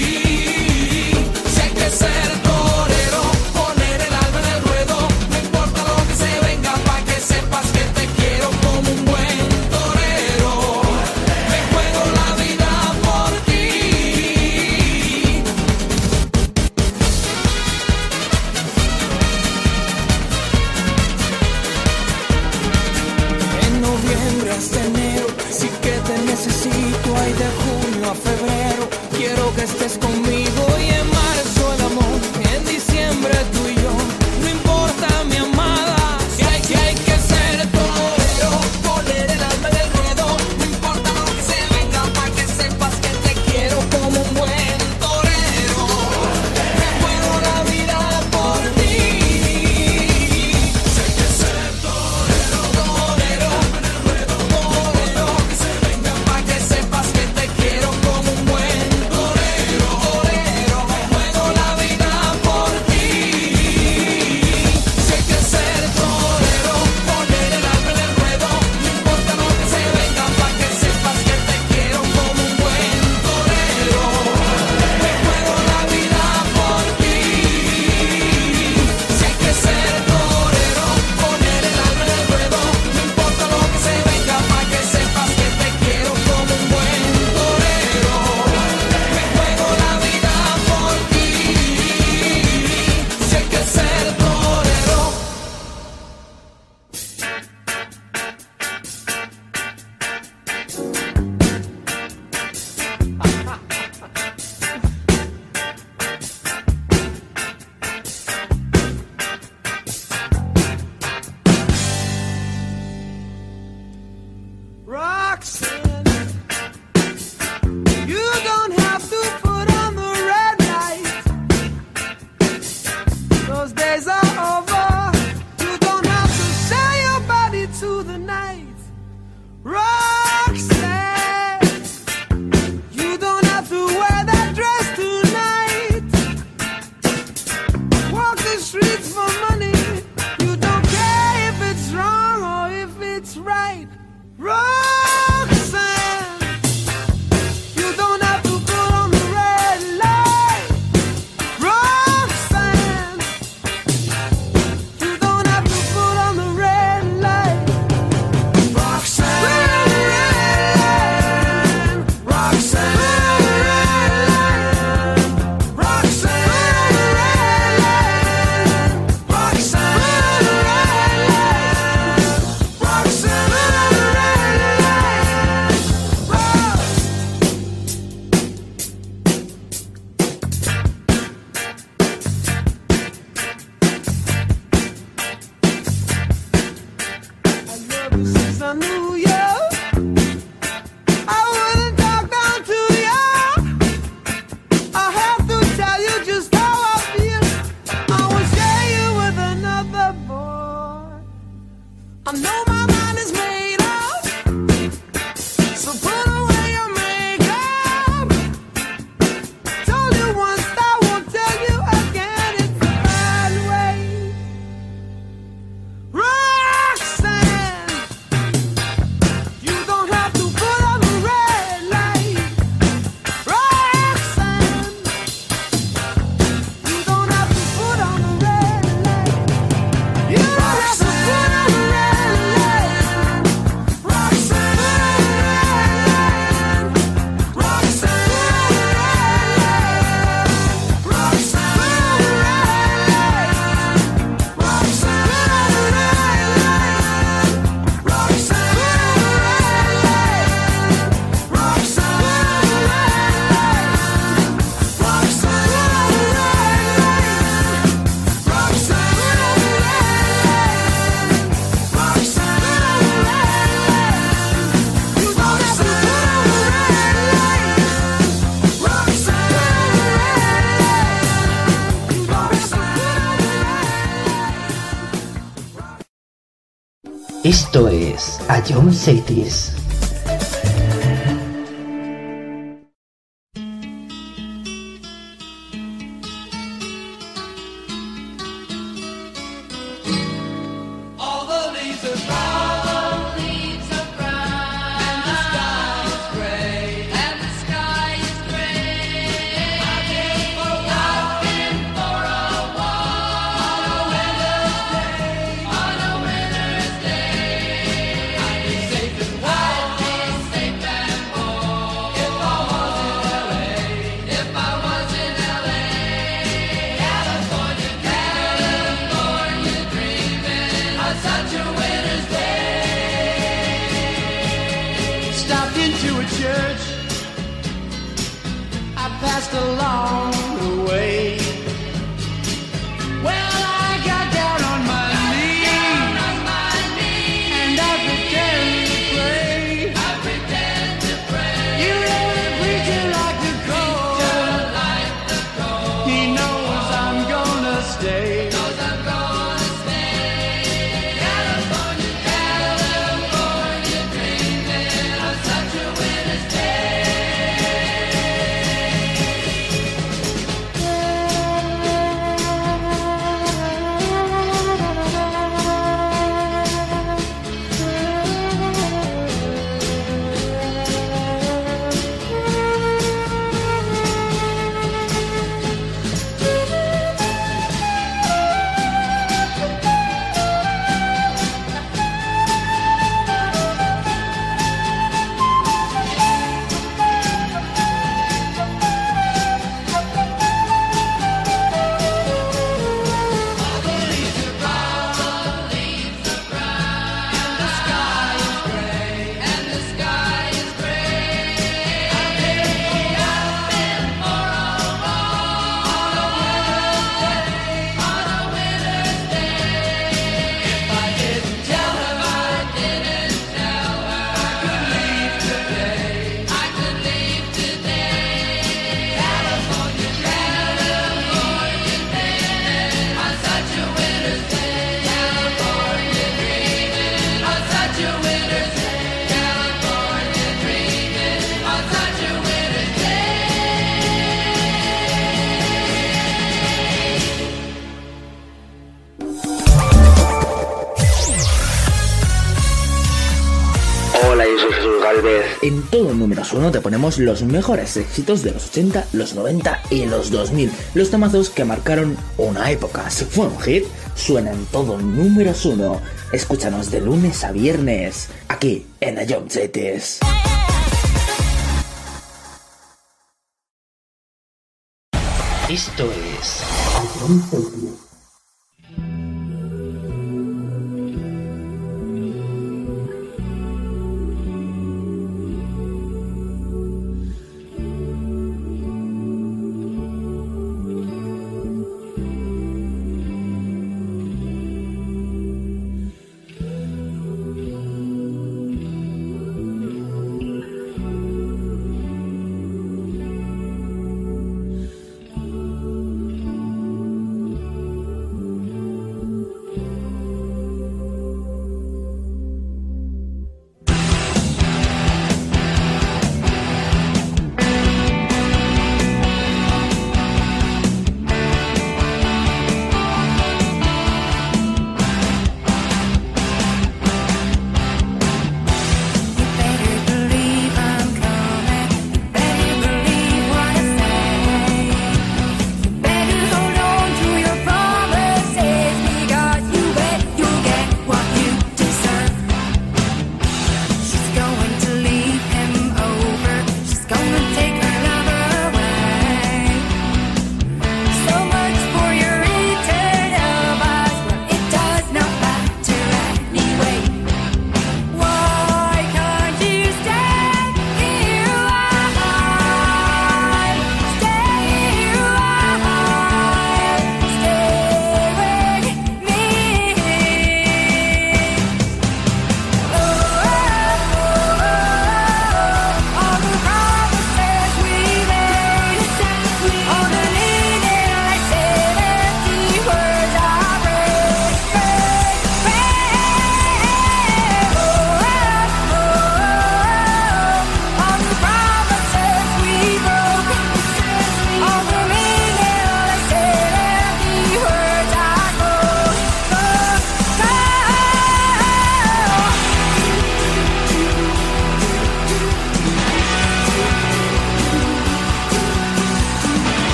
Sé que ser torero, poner el alma en el ruedo, no importa lo que se venga, pa' que sepas que te quiero como un buen torero. Me juego la vida por ti. En noviembre hasta enero, sí que te necesito. Ay, de junio a febrero, quiero que estés conmigo. Y en marzo el amor, en diciembre tú y yo. No importa, mi amada, si hay que hay que ser torero, poner el alma en el ruedo. No importa lo que se venga, pa' que sepas que te quiero como un buen torero. Me juego la vida por ti. Sé que ser torero, torero, torero, que se venga, pa' que sepas que te quiero como un buen torero, torero. Me juego la vida por ti. Sé que ser torero, poner el alma en el ruedo, no importa lo que se venga, pa' que sepas que te quiero como un buen torero. Me juego la vida por ti. Sé que ser torero, poner el alma en el ruedo, no importa lo que se venga, pa' que sepas que te quiero como un buen torero. Me juego la vida por ti. Sé que ser torero. Roxanne, you don't have to put on the red light. Those days are over. You don't have to sell your body to the night. Roxanne, you don't have to wear that dress tonight. Walk the streets for money. You don't care if it's wrong or if it's right. Roxanne, you don't have to put on the red light. Roxanne, you don't have to put on the red light. Roxanne, Roxanne, Roxanne, since I knew you, I wouldn't talk down to you. I have to tell you just how I feel. I will share you with another boy. I know my mind is made up, so put away your makeup. Told you once, I won't tell you again. It's the bad way. Roxanne, you don't have to put on the red light. Roxanne, you don't have to put on the red light. You don't have to put on the red light. Esto es A Jones eighties. All the leaves are brown, leaves are brown, and the sky is gray, and the sky is gray. I've been for a walk, been for a walk on a winter's day, on a winter's day. I'd be safe and warm, I'd be safe and warm if I was in L A, if I was in L A. California, California dreaming on such a winter's day. Stopped into a church, I passed along the way. Well, I got down on my knees, and I pretend to pray. I pretend to pray. You know the preacher like the cold. He knows I'm gonna stay. Knows I'm gonna stay. California, California dreaming on such a winter's day. Hola, yo soy Jesús Galvez. En todo números uno te ponemos los mejores éxitos de los ochenta, los noventa y los dos mil. Los temazos que marcaron una época. Si fue un hit, suena en todo números uno. Escúchanos de lunes a viernes, aquí en A Jones eighties. Esto es A Jones eighties.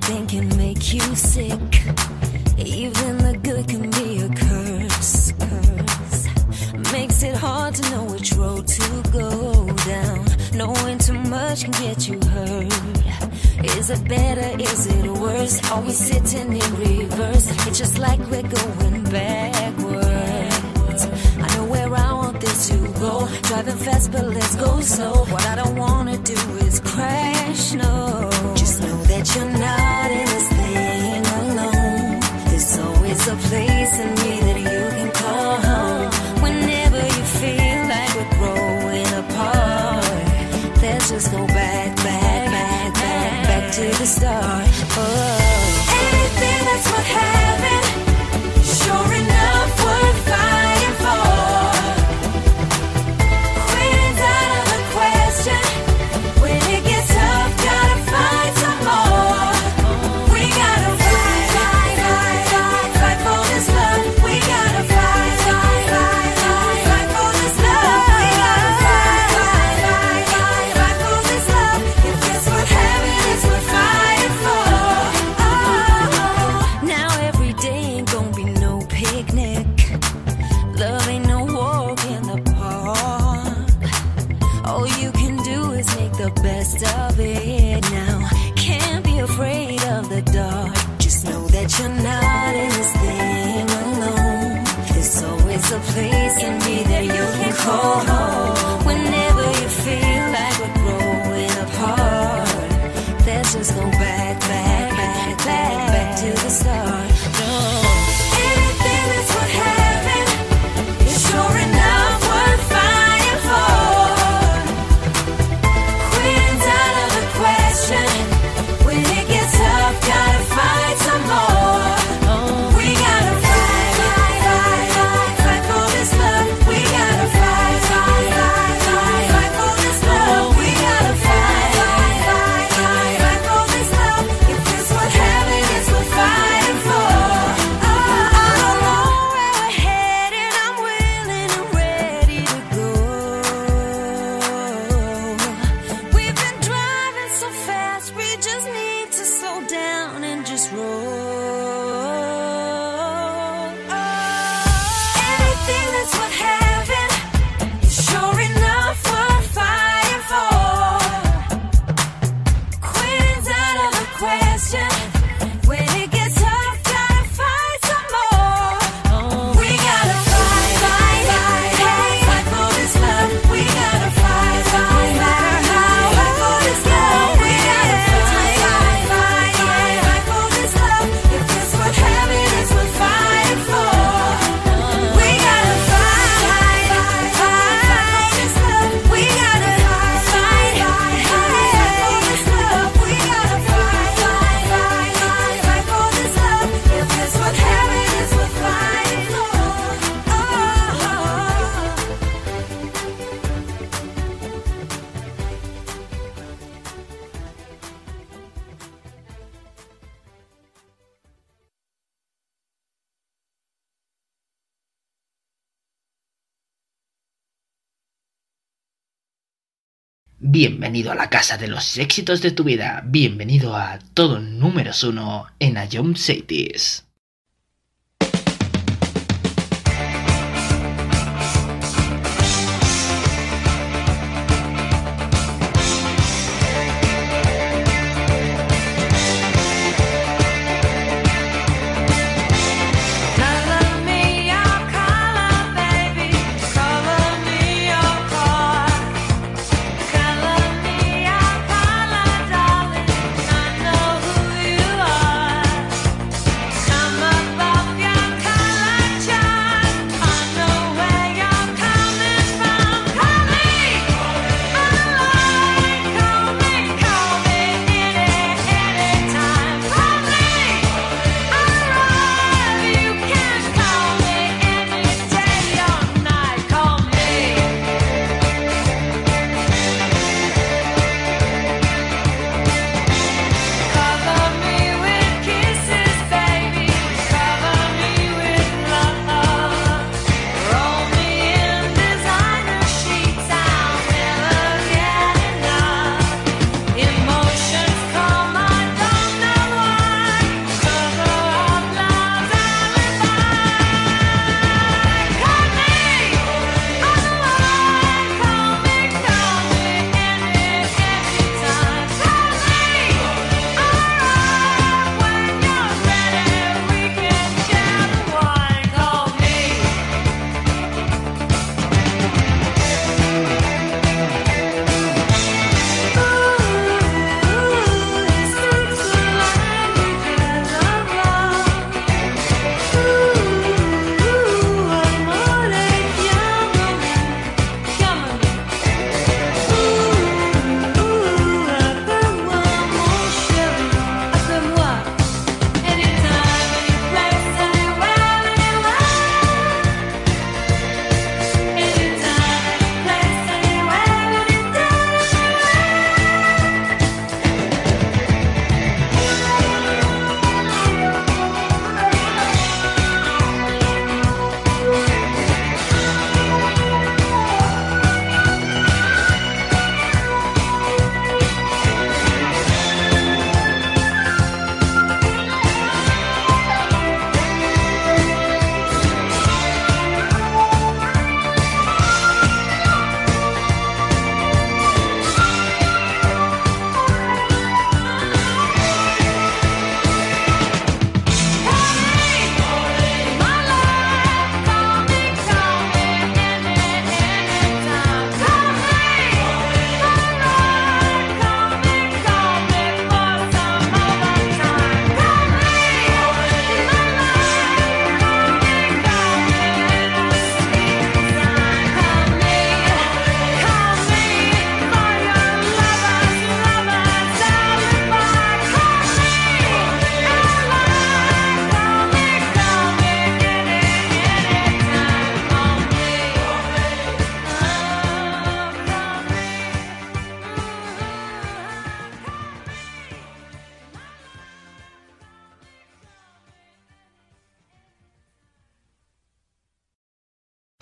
anything can make you sick. Even the good can be a curse, curse. Makes it hard to know which road to go down. Knowing too much can get you hurt. Is it better, is it worse? Are we sitting in reverse? It's just like we're going backwards. I know where I want this to go. Driving fast but let's go slow. What I don't wanna do is crash, no. Just know that you're not in this thing alone. There's always a place in me that you can call home. Whenever you feel like we're growing apart, let's just go back, back, back, back, back to the start. Oh. Anything that's worth having, sure enough worth fighting for. Quitting's out of the question. When it gets tough, gotta find some more. We gotta fight, fight, fight, fight, fight for this love. We gotta fight, fight, fight, fight, fight for this love. We gotta fight, fight, fight, fight, fight for this love. If it's worth having, it's worth fighting for. Oh, now every day ain't gonna be no picnic. Love ain't no walk in the park. All you can do is make the best of it now. Can't be afraid of the dark. Just know that you're not in this thing alone. There's always a place in me that you can call home. Whenever you feel like we're growing apart, let's just go back, back, back, back, back to the start. No. Anything that's worth having is sure enough worth fighting for. Quitting's out of the question. When it gets tough, gotta fight some more. We gotta fight, fight, fight, fight, fight for this love. We gotta fight, fight, fight, fight, fight for this love. We gotta fight, fight, fight, fight, fight for this love. If it's worth having, it's worth fighting for. Oh, I don't know where we're headed. I'm willing and ready to go. We've been driving so fast, we just need to slow down and just roll. Anything that's worth having is sure enough worth fighting for. Quitting's out of the question. When it gets tough, gotta fight some more. We gotta fight, fight, fight, fight, fight for this love. We gotta fight, fight, fight, fight, fight for this love. We gotta fight, fight, fight, fight, fight for this love. If it's worth having, it's worth fighting for. We gotta fight, fight, fight, fight for this love. We gotta fight, fight, fight, fight for this love. We gotta fight, fight, fight, fight, fight for this love. If it's worth having, it's worth fighting for. Oh. Bienvenido a la casa de los éxitos de tu vida. Bienvenido a todo números uno en Ion Cities. Color me your color, baby. Color me your car. Color me your color, darling. I know who you are.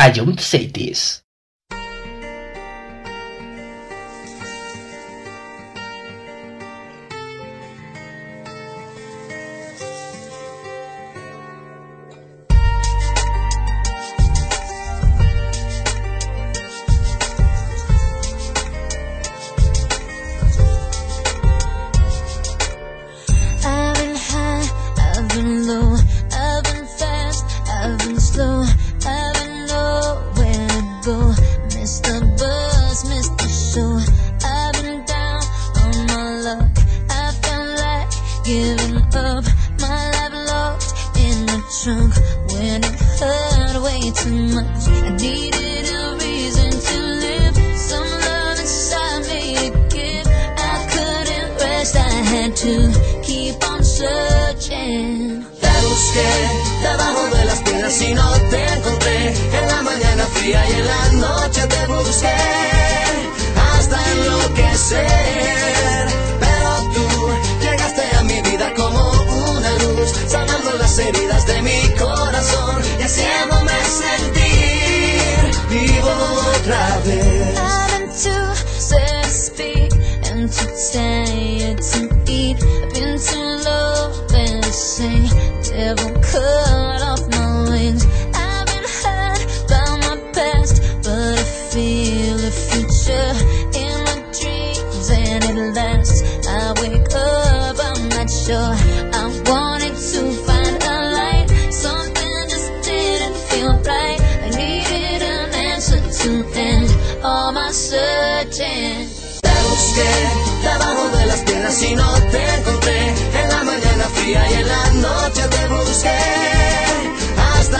I don't say this. I've been high, I've been low, I've been fast, I've been slow, I've been nowhere to go. Missed the bus, missed the show. I've been down on my luck. I felt like giving up. My life locked in the trunk when it hurt way too much. I needed a reason to live, some love inside me to give. I couldn't rest, I had to keep on searching. Te busqué debajo de las piedras y no te encontré. En la mañana fría y en la noche te busqué hasta enloquecer. Pero tú llegaste a mi vida como una luz, sanando las heridas de mi corazón y haciéndome sentir vivo otra vez. I've been too sad to speak and too tired to eat. I've been too low and to sing. Devil cut off my wings. I've been hurt by my past, but I feel a future in my dreams and it lasts. I wake up, I'm not sure. I wanted to find a light. Something just didn't feel right. I needed an answer to end all my searching. Te busqué debajo de las piedras y no te encontré. En la mañana fría y en la noche te busqué hasta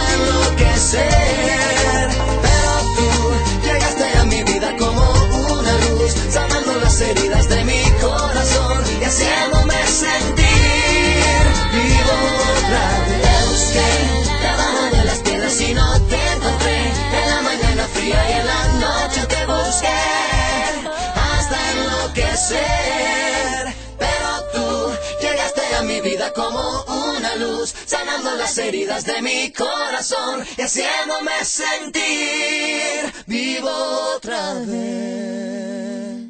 enloquecer. Pero tú llegaste a mi vida como una luz, sanando las heridas de mi corazón y haciéndome sentir vivo otra vez. Te busqué debajo de las piedras y no te encontré. En la mañana fría y en la noche te busqué hasta enloquecer. Pero tú llegaste a mi vida como una luz, sanando las heridas de mi corazón y haciéndome sentir vivo otra vez.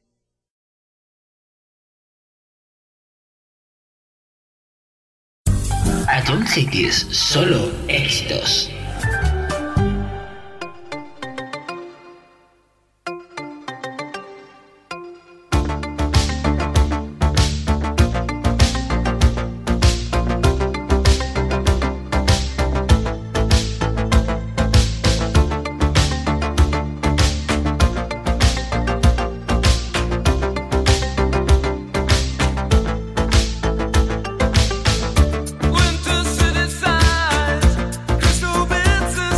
I don't say this, solo éxitos. Winter city sighs, crystal bits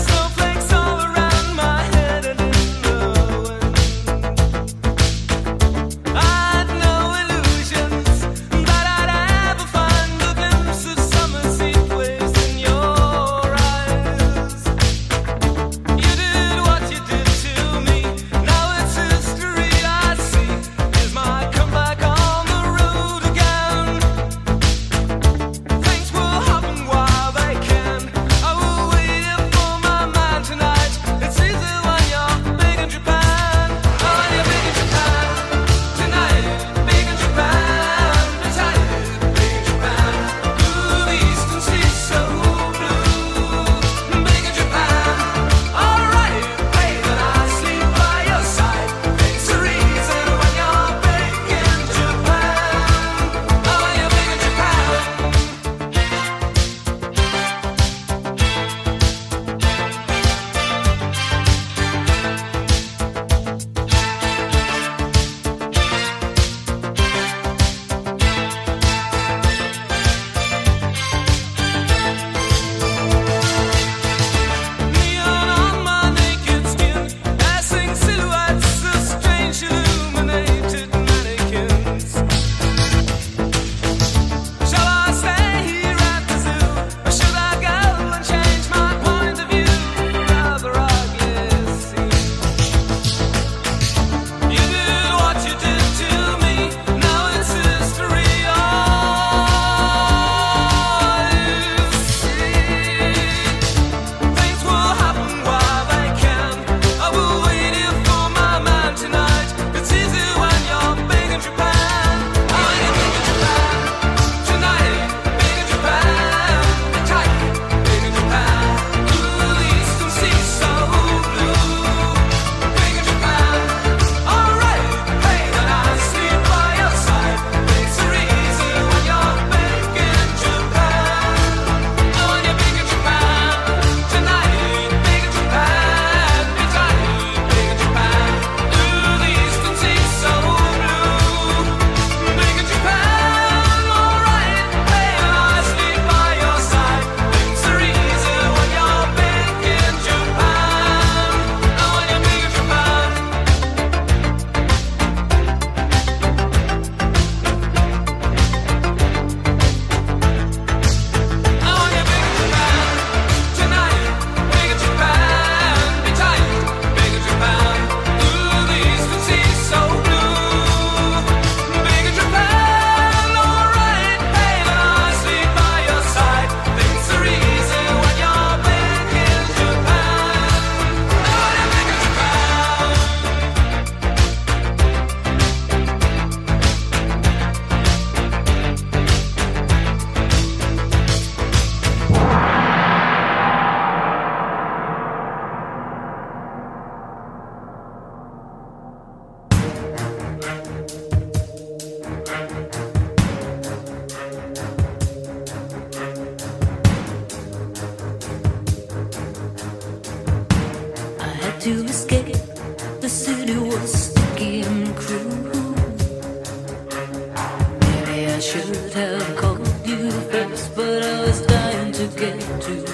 have called you first, but I was dying to get to you.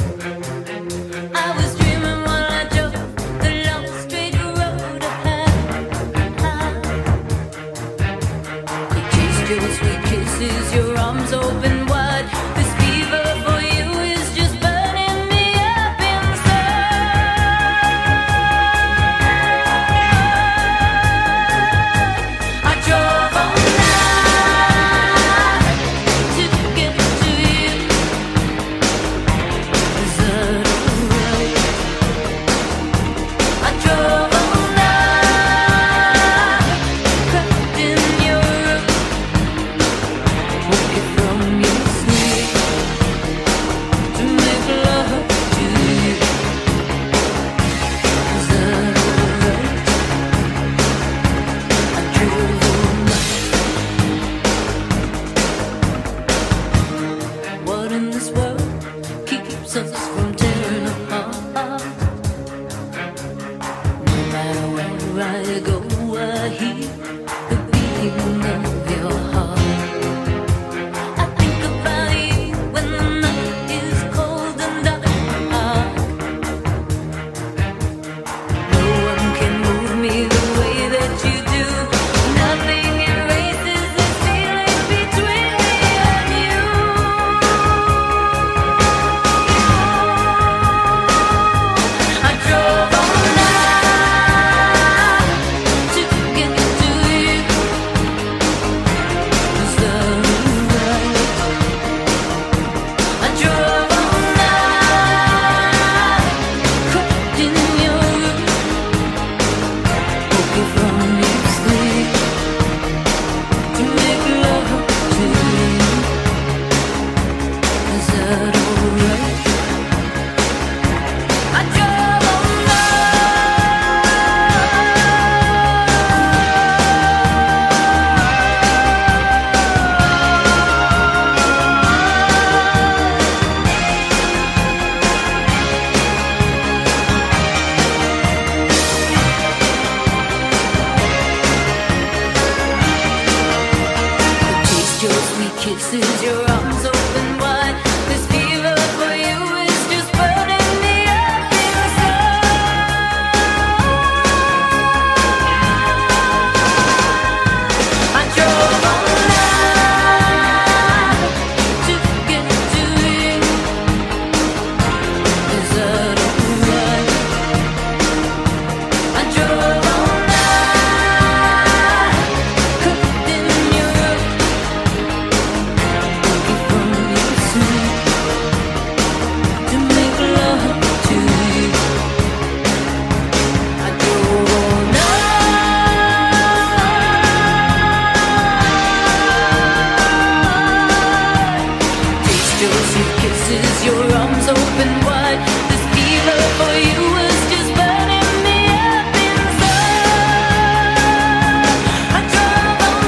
I was dreaming while I drove the long straight road ahead. You kissed your sweet kisses, your arms open wide. This fever for you is just burning me up inside. I drove all night to get to you. Is that alright? I drove all night, crept in your room, woke you from your sleep to make love to you. Is that alright? I drove all night. What in this world keeps us from tearing apart? No matter where I go, I hear the beating of your heart. I think about you when the night is cold and dark. No one can move me the way that you do. Nothing erases this feeling between me and you. I drove all night to get to you. Is that alright? I drove all night, crept in your room, woke you from your sleep to make love to you. Is that alright? I drove all taste your sweet kisses, your arms open wide. This fever for you is just burning me up inside. I drove all night to get to you. Is that alright? I drove all night, crept in your room, woke you from your sleep to make love to you. I drove all night. Taste your sweet kisses, your arms open wide. This fever for you is just burning me up inside. I drove all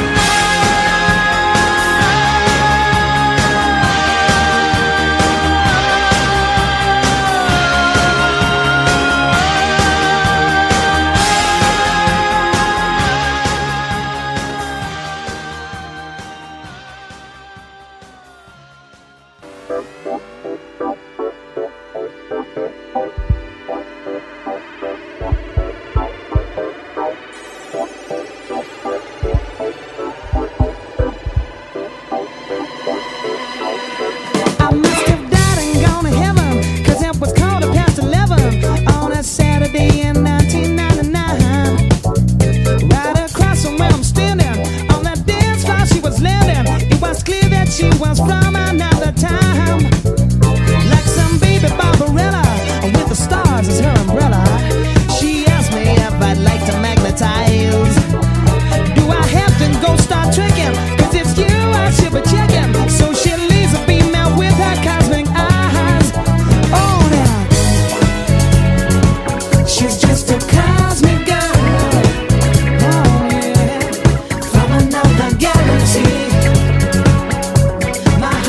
I must have died and gone to heaven, 'cause it was quarter past eleven on a Saturday in nineteen ninety-nine. Right across from where I'm standing, on that dance floor she was landing. It was clear that she was from another time. Like some baby Barbarella, with the stars as her umbrella. She asked me if I'd like to magnetize. Do I have to go start tricking? 'Cause it's you I should be checking. So she leaves a beam out with her cosmic eyes. Oh, now she's just a cosmic girl. Oh, yeah. From another galaxy. My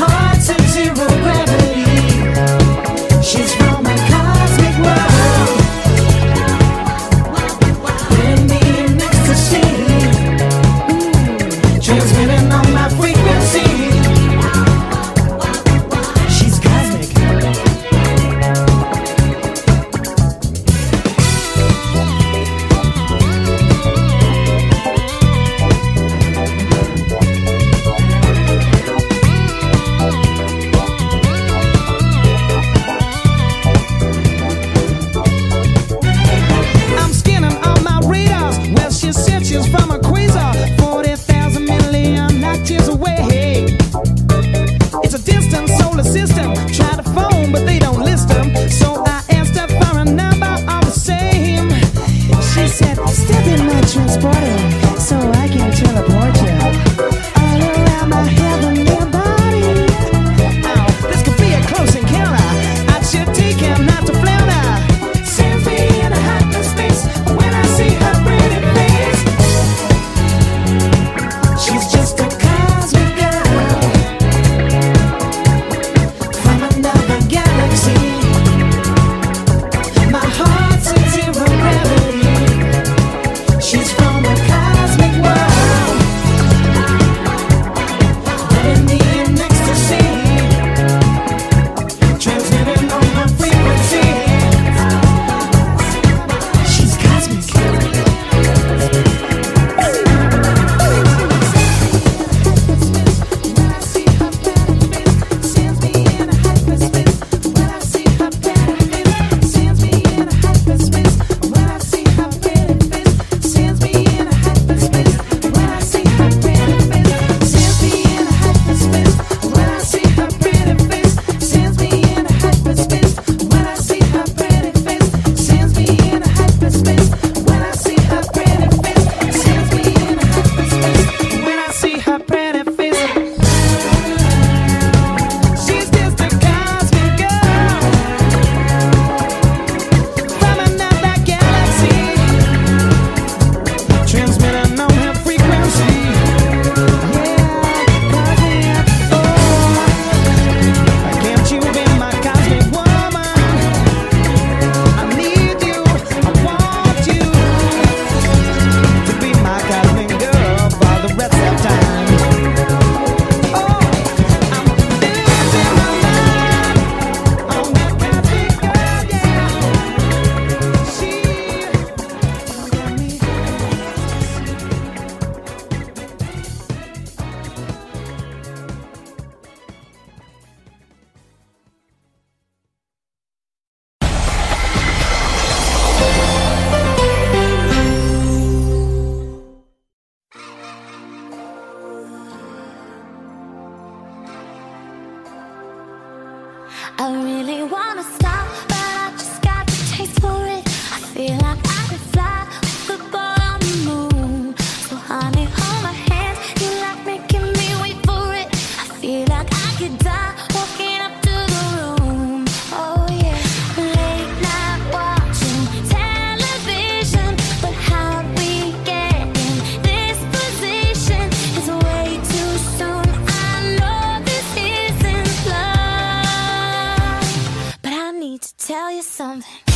I really wanna stop, but I just got the taste for it. I feel like I could fly with the ball on the moon. So honey, hold my hand, you like making me wait for it. I feel like I could die walking up to the room. Oh yeah, late night watching television, but how we get in this position is way too soon. I know this isn't love, but I need to tell you something.